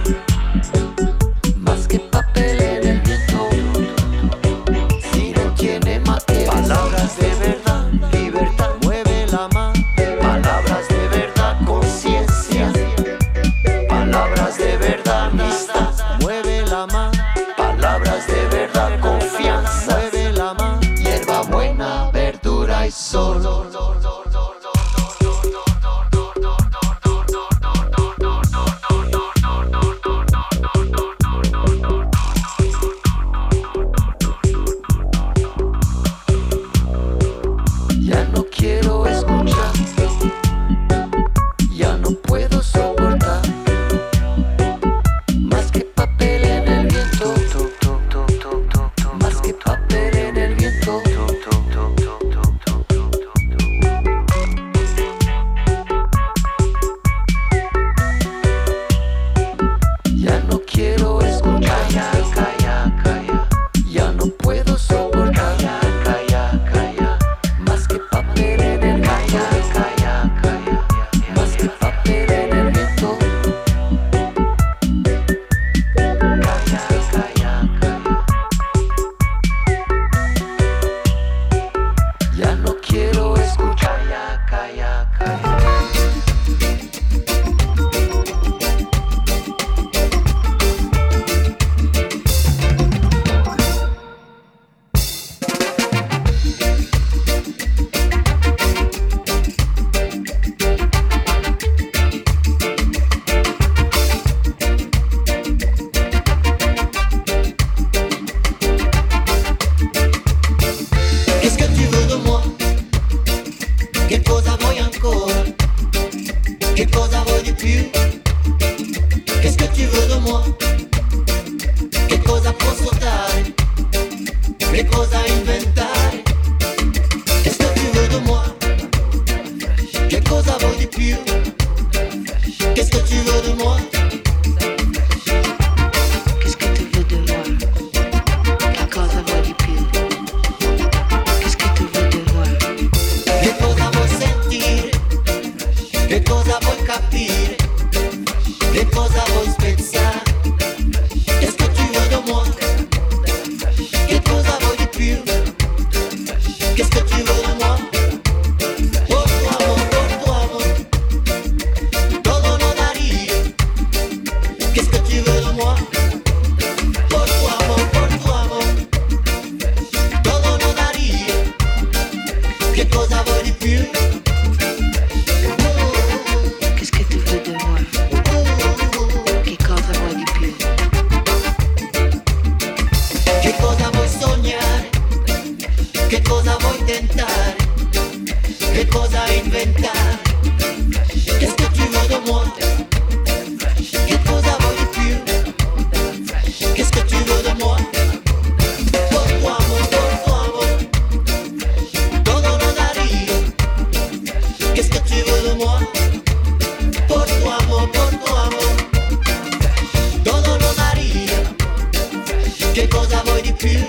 Más que papel en el viento. Si no tiene más que palabras de verdad, libertad, mueve la mano. Palabras de verdad, conciencia. Palabras de verdad, amistad, mueve la mano. Palabras de verdad, confianza, mueve la mano. Hierba buena, verdura y sol. Ya no quiero escuchar. Ya no puedo soportar. Más que papel en el viento. Más que papel en el viento. che cosa inventare? Qu'est-ce que tu veux de moi? Che cosa vuoi di più? Qu'est-ce que tu veux de moi? Qu'est-ce que tu veux de moi? Che cosa vuoi di più? Qu'est-ce que tu veux de moi? Che cosa vuoi sentire? Che cosa vuoi capire? Che cosa vuoi spezzare? Qu'est-ce que tu veux de moi? Che cosa vuoi di più? Qu'est-ce que tu veux de moi? Por tu amor, por tu amor, todo lo daría. Qu'est-ce que tu veux de moi? Por tu amor, por tu amor, todo lo daría. Che cosa vuoi di più? Qu'est-ce que tu veux de moi? Che cosa vuoi di più? Che cosa vuoi sognare? Che cosa vuoi tentare? Che cosa inventare? Qu'est-ce que tu veux de moi? Che cosa vuoi di più? Qu'est-ce que tu veux de moi? Por tu amor, por tu amor, todo lo daría. Qu'est-ce que tu veux de moi? Por tu amor, por tu amor, todo lo daría. Che cosa vuoi di più?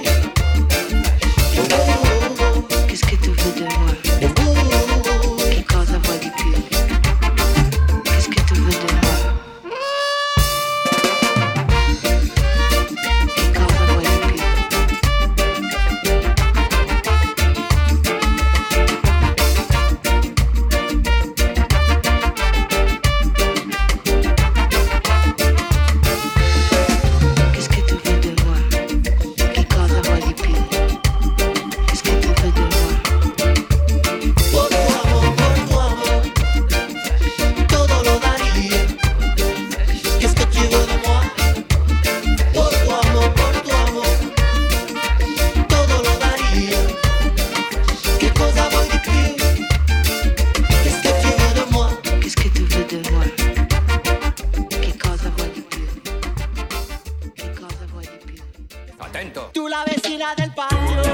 Qu'est-ce que tu veux de moi? Che cosa vuoi di più? Qu'est-ce que tu veux de moi? Che cosa vuoi di più? Qu'est-ce que tu veux de moi? Che cosa vuoi di più? Qu'est-ce que tu veux de moi? Por tu amor, por tu amor, todo lo daría. Qu'est-ce que tu veux de moi? Por tu amor, por tu amor, todo lo daría. Che cosa vuoi di più? Qu'est-ce que tu veux de moi? Qu'est-ce que tu veux de moi? Che cosa vuoi di più? Che cosa vuoi di più? Attento. Tú la vecina del patio.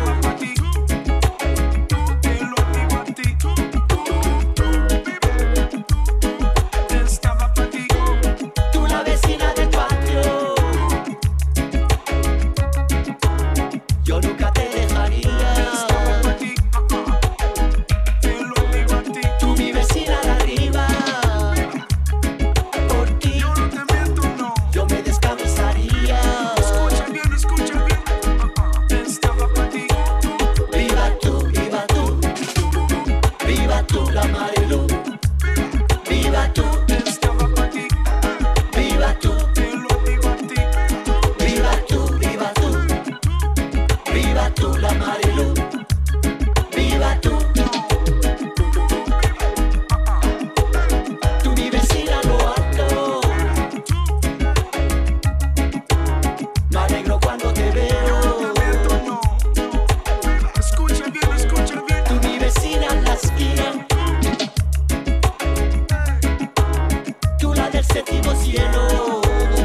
Tú la vecina del patio. Yo nunca te dejaría. Tú mi vecina de arriba. Por ti yo me descamisaría. Escucha bien, escucha bien. Estaba para ti. Viva tú, viva tú. Viva tú la Marilu. Viva tú. Estaba para ti. Viva tú. Te lo digo a ti. Viva tú, viva tú. Viva tú la Marilu. Viva tú. Tú mi vecina lo alto. Me alegro cuando te veo. Escucha bien, escucha bien. Tú mi vecina en la esquina. Tú la del séptimo cielo.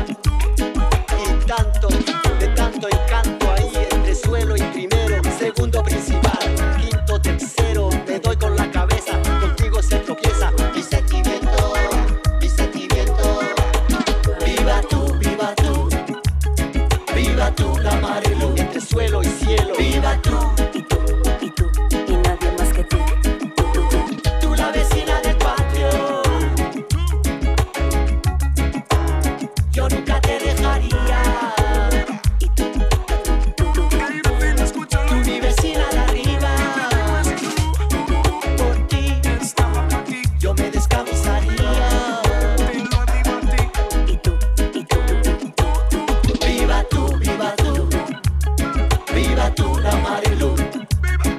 Y tanto, de tanto encanto ahí entre suelo y primero, segundo principal, quinto, tercero, me doy con la cabeza, contigo se tropieza mi sentimiento, mi sentimiento. Viva tú, viva tú, viva tú la Marilu, entre suelo y cielo. Viva tú, Y tú, y tú, y nadie más que tú. tú la vecina del patio. Yo nunca te dejaría. Y tú, Tú mi vecina de arriba. Por ti Estaba para ti. yo me descamisaría. Te lo digo a ti. y tú, y tú, Viva tú, viva tú. Viva tú la Marilu.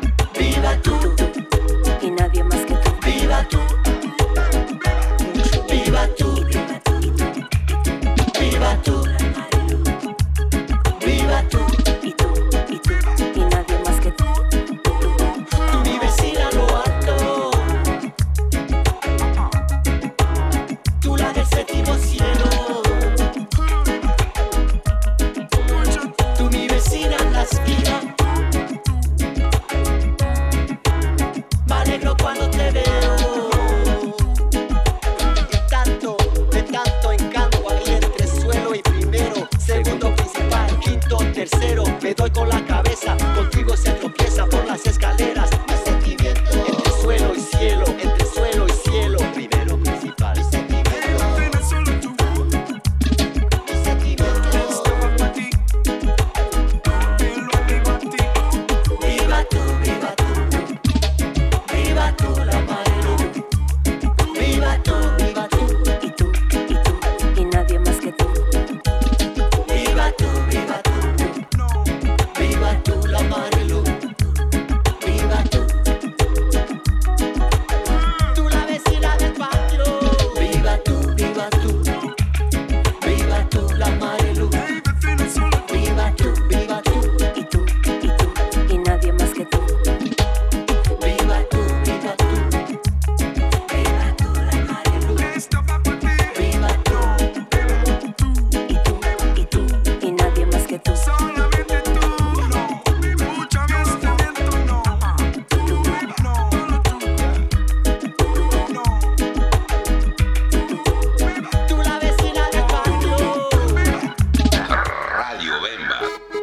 tercero, me doy con la cabeza, contigo se tropieza por las escaleras. Mi sentimiento, entre suelo y cielo, entre suelo y cielo, primero principal. Mi sentimiento, mi sentimiento. Viva tú, viva tú, viva tú la Marilu. Viva tú, viva tú, Y tú, y tú, y nadie más que tú. viva tú, viva tú, viva tú la Marilu. Viva tú, tú la vecina del patio. Viva tú, viva tú, viva tú la Marilu. Viva tú, viva tú, Y tú, y tú, y nadie más que tú. viva tú, viva tú, viva tú la Marilu. Viva tú, Y tú, y tú, y nadie más que tú. tú la vecina del patio. Radio Bemba.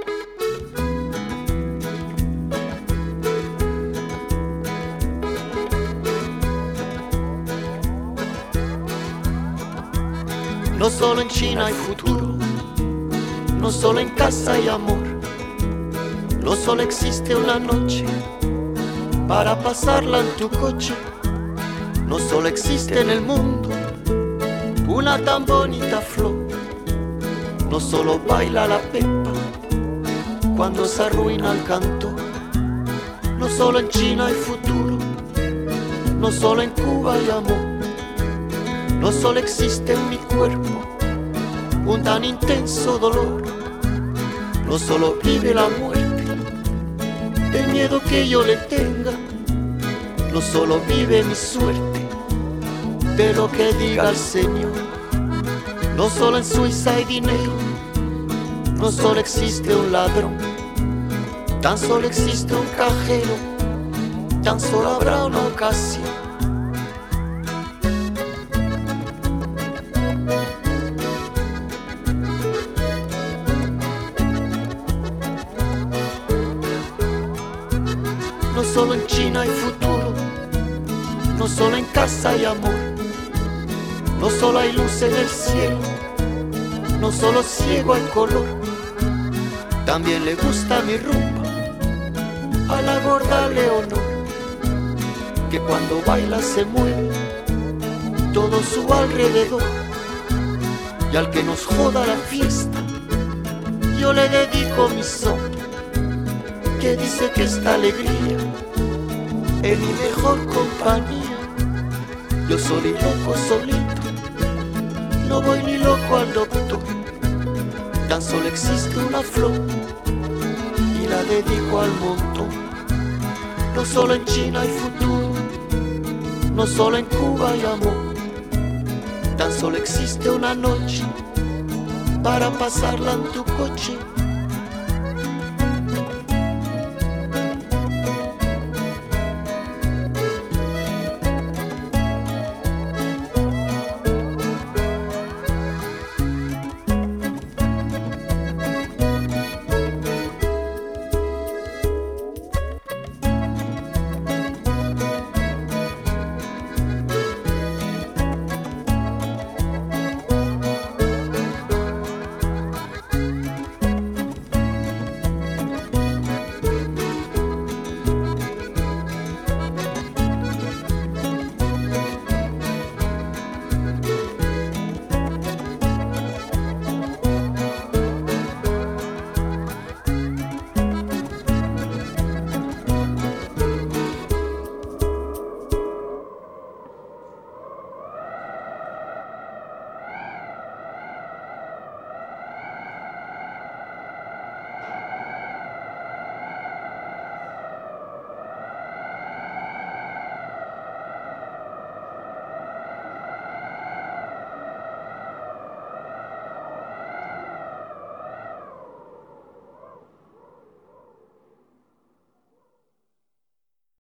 No solo en China hay futuro, no solo en casa hay amor, no solo existe una noche para pasarla en tu coche, no solo existe en el mundo una tan bonita flor, no solo baila la pepa cuando se arruina el canto, no solo en China hay futuro, no solo en Cuba hay amor. No solo existe en mi cuerpo un tan intenso dolor, no solo vive la muerte, el miedo que yo le tenga, no solo vive mi suerte, de lo que diga el Señor. No solo en Suiza hay dinero, no solo existe un ladrón, tan solo existe un cajero, tan solo habrá una ocasión. No solo en China hay futuro, no solo en casa hay amor, no solo hay luz en el cielo, no solo ciego hay color, también le gusta mi rumba a la gorda Leonor, que cuando baila se mueve todo su alrededor, y al que nos joda la fiesta yo le dedico mi son, que dice que esta alegría es mi mejor compañía. Yo soy loco solito, no voy ni loco al doctor, tan solo existe una flor y la dedico al montón. No solo en China hay futuro, no solo en Cuba hay amor, tan solo existe una noche para pasarla en tu coche.